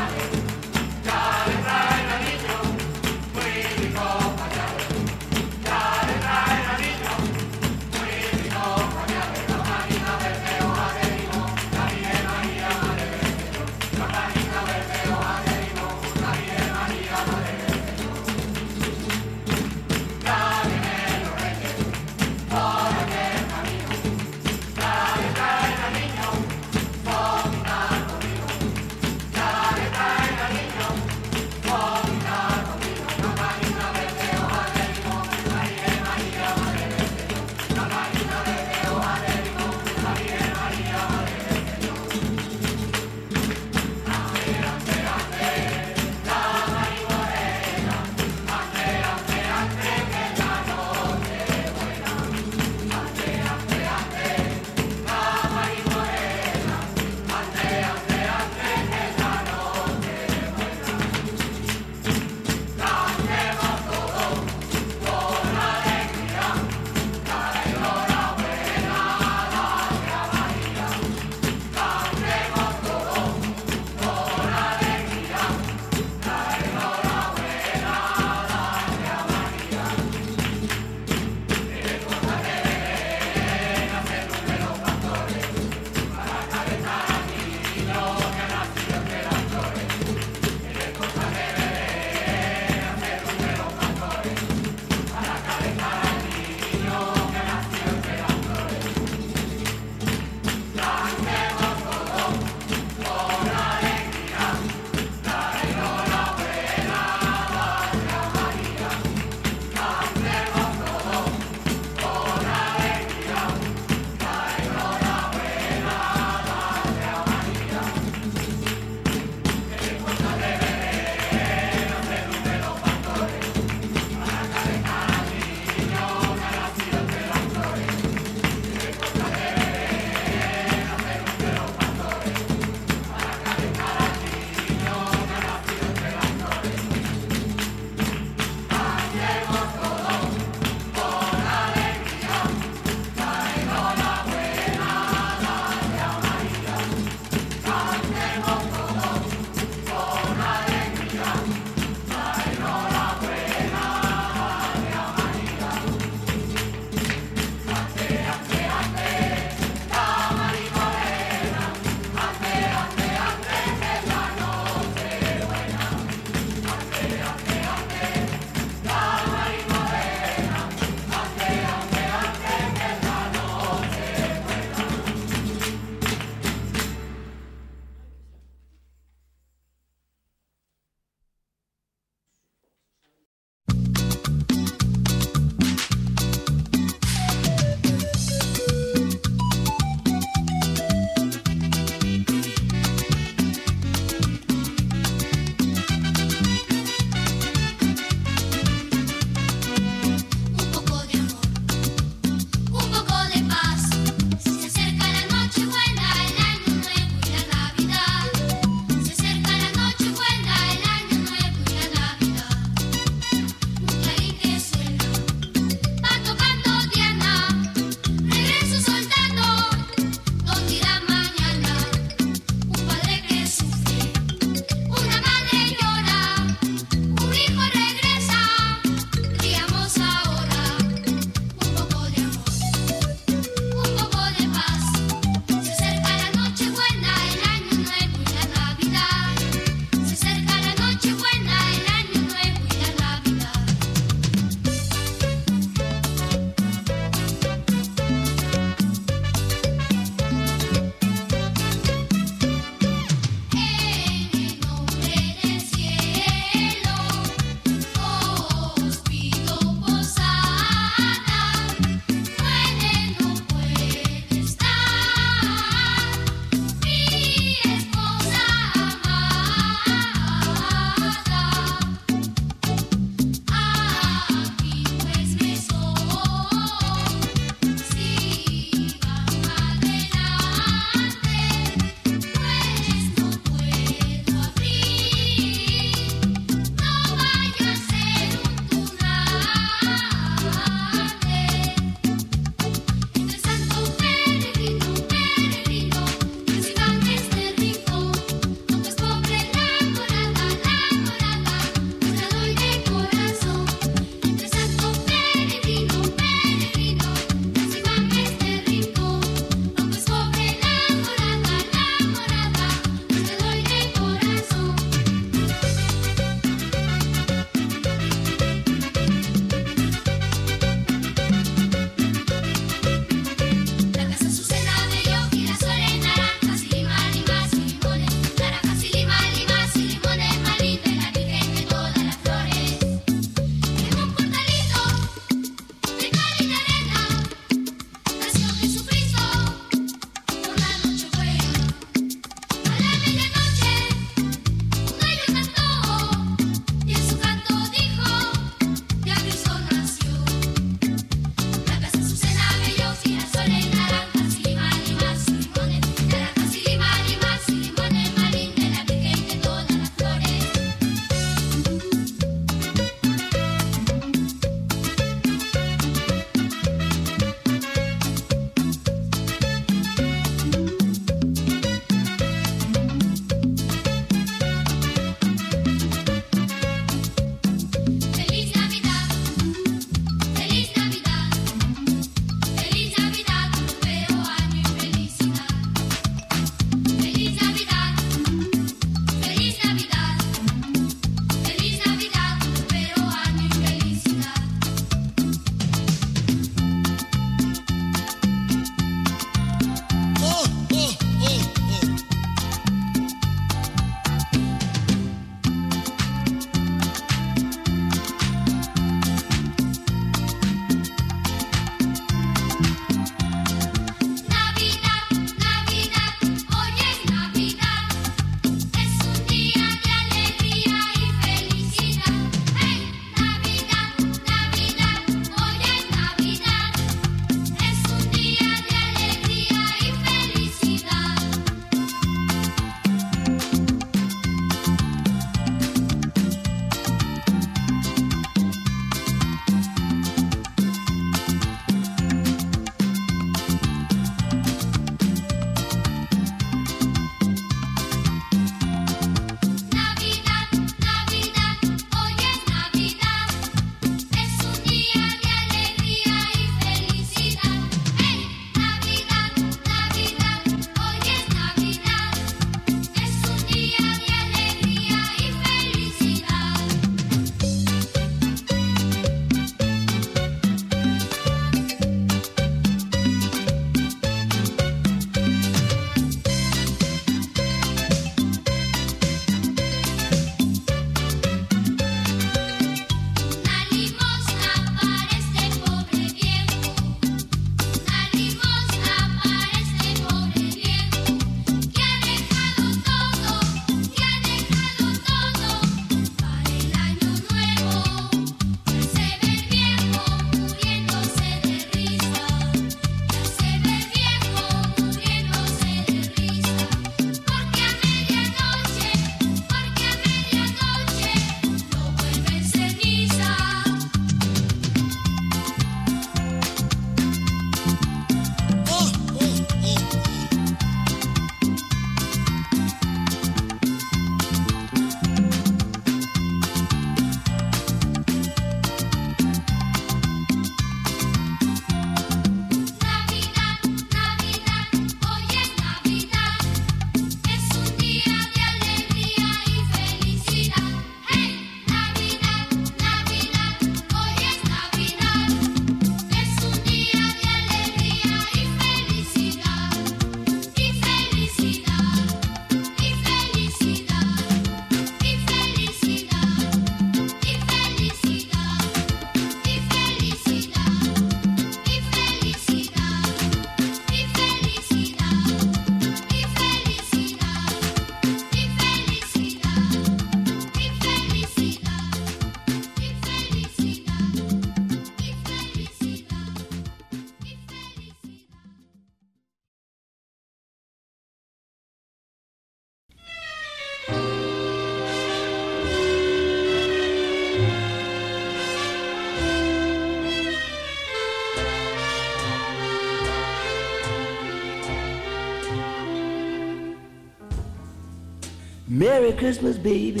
Merry Christmas, baby.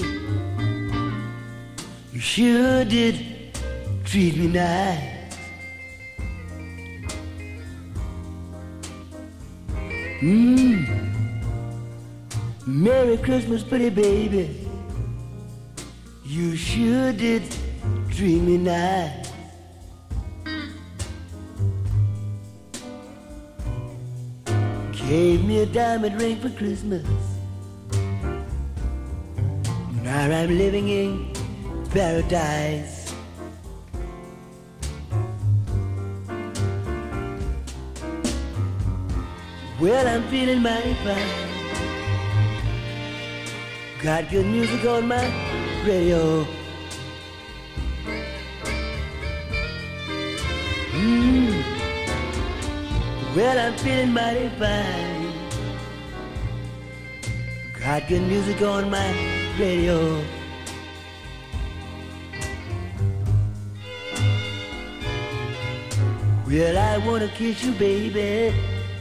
You sure did treat me nice. Mmm. Merry Christmas, pretty baby. You sure did treat me nice. Gave me a diamond ring for Christmas. Now I'm living in paradise. Well, I'm feeling mighty fine. Got good music on my radio. Mmm. Well, I'm feeling mighty fine. Got good music on my radio. Well, I wanna kiss you, baby,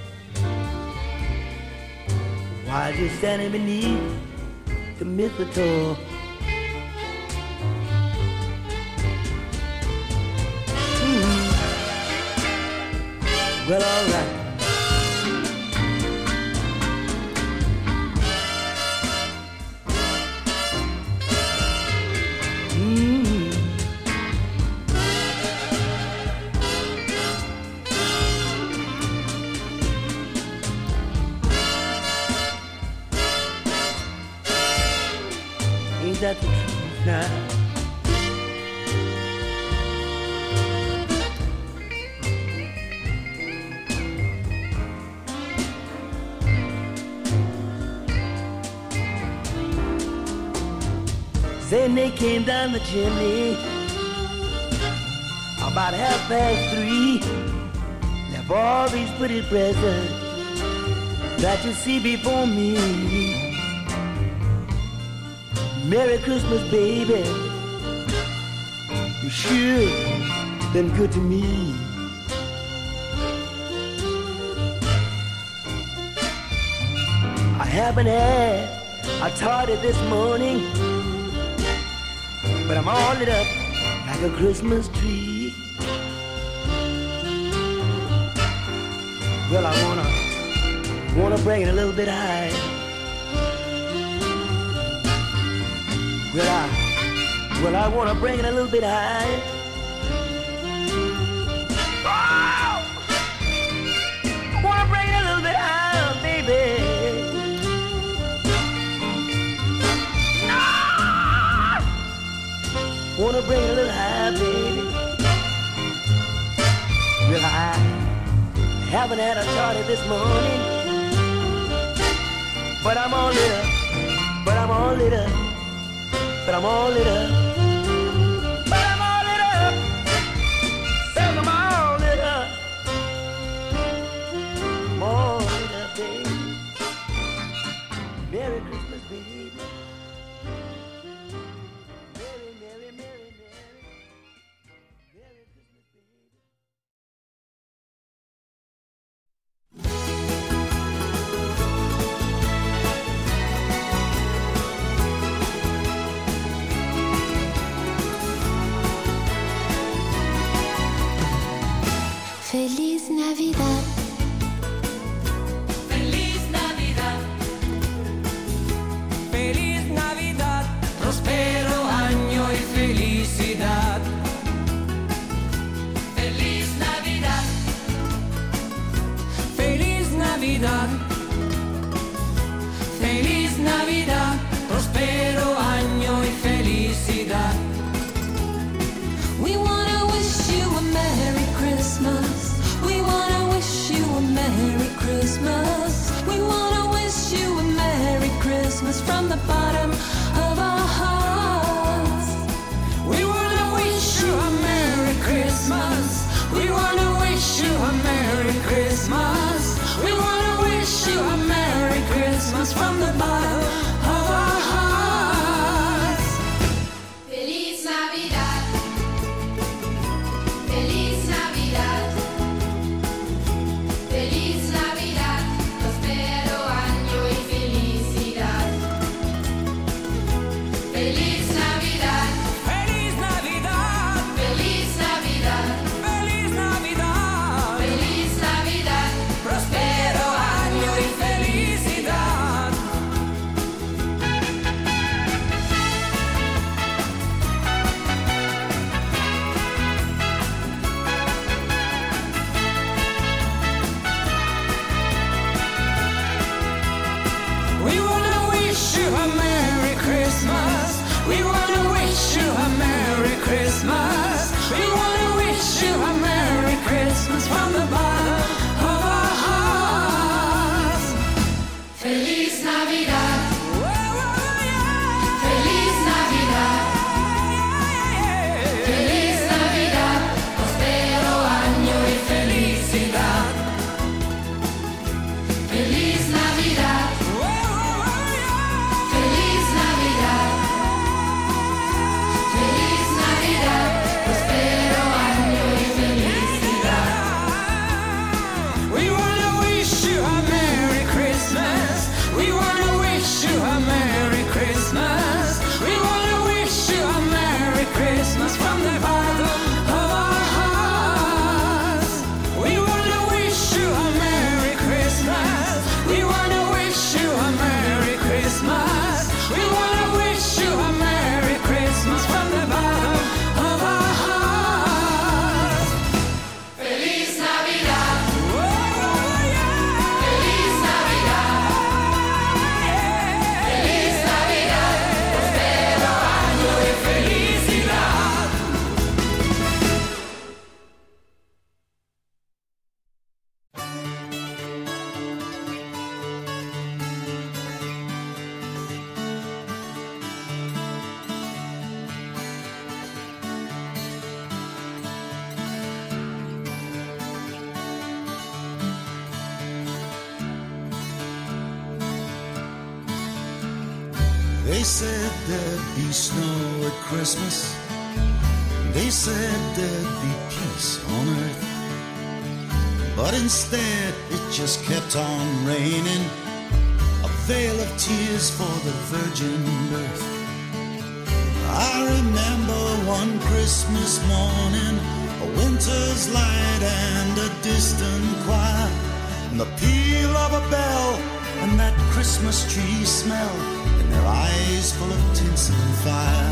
while you're standing beneath the mistletoe. Mm. Well, all right. Mm. Ain't that the truth now? Then they came down the chimney about half past three. Left all these pretty presents that you see before me. Merry Christmas, baby. You sure been good to me. I haven't had a tardy this morning, but I'm all lit up like a Christmas tree. Well, I wanna, wanna bring it a little bit high. Well, I, well, I wanna bring it a little bit high. Oh! I wanna bring it a little bit higher, baby. Wanna bring it a little high, baby. Well, I haven't had a tardy this morning, but I'm all lit up, but I'm all lit up, but I'm all lit up, but I'm all lit up, says I'm all lit up, I'm all lit up, baby. Merry Christmas, baby. Feliz Navidad. Feliz Navidad. Feliz Navidad. Prospero año y felicidad. Feliz Navidad. Feliz Navidad. Feliz Navidad. Prospero año y felicidad. We wanna wish you a Merry Christmas. We wanna wish you a Merry Christmas. We wanna wish you a Merry Christmas from the bottom of our hearts. We wanna wish you a Merry Christmas. We wanna wish you a Merry Christmas. We wanna wish you a Merry Christmas from the bottom of our hearts. Feliz Navidad. Feliz Navidad. Feliz Navidad. Prospero año y felicidad. Feliz Navidad. Feliz Navidad. Feliz Navidad. Prospero año y felicidad. We wanna wish you a Merry Christmas. We wanna wish you a Merry Christmas. We wanna wish you a Merry Christmas from the bottom of our hearts. We wanna wish you a Merry Christmas. We wanna wish you a Merry Christmas. We wanna wish you a Merry Christmas from the bottom of our hearts. Feliz Navidad. Feliz Navidad. Feliz Navidad. Prospero año y felicidad. They said there'd be snow at Christmas. They said there'd be peace on earth. But instead it just kept on raining, a veil of tears for the virgin birth. I remember one Christmas morning, a winter's light and a distant choir, and the peal of a bell and that Christmas tree smell, and their eyes full of tinsel and fire.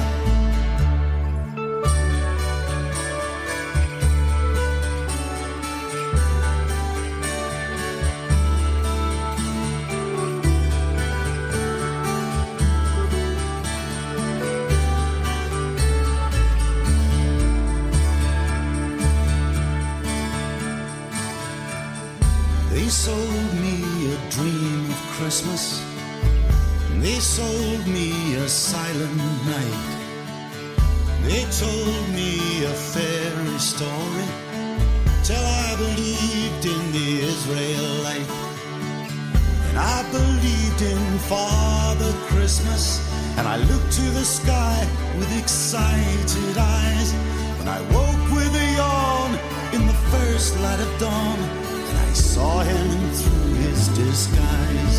They sold me a dream of Christmas. They sold me a silent night. They told me a fairy story till I believed in the Israelite. And I believed in Father Christmas, and I looked to the sky with excited eyes when I woke with a yawn in the first light of dawn, and I saw him through his disguise.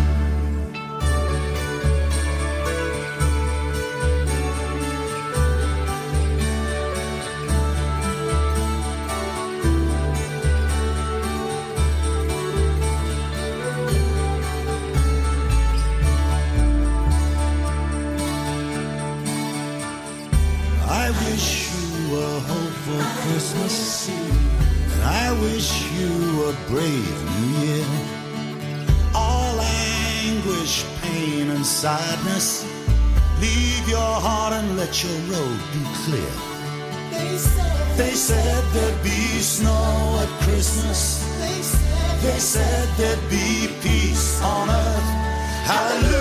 I wish you a hopeful Christmas, and I wish you a brave new year. All anguish, pain, and sadness, leave your heart and let your road be clear. They said there'd be snow at Christmas. They said there'd be peace on earth. Hallelujah.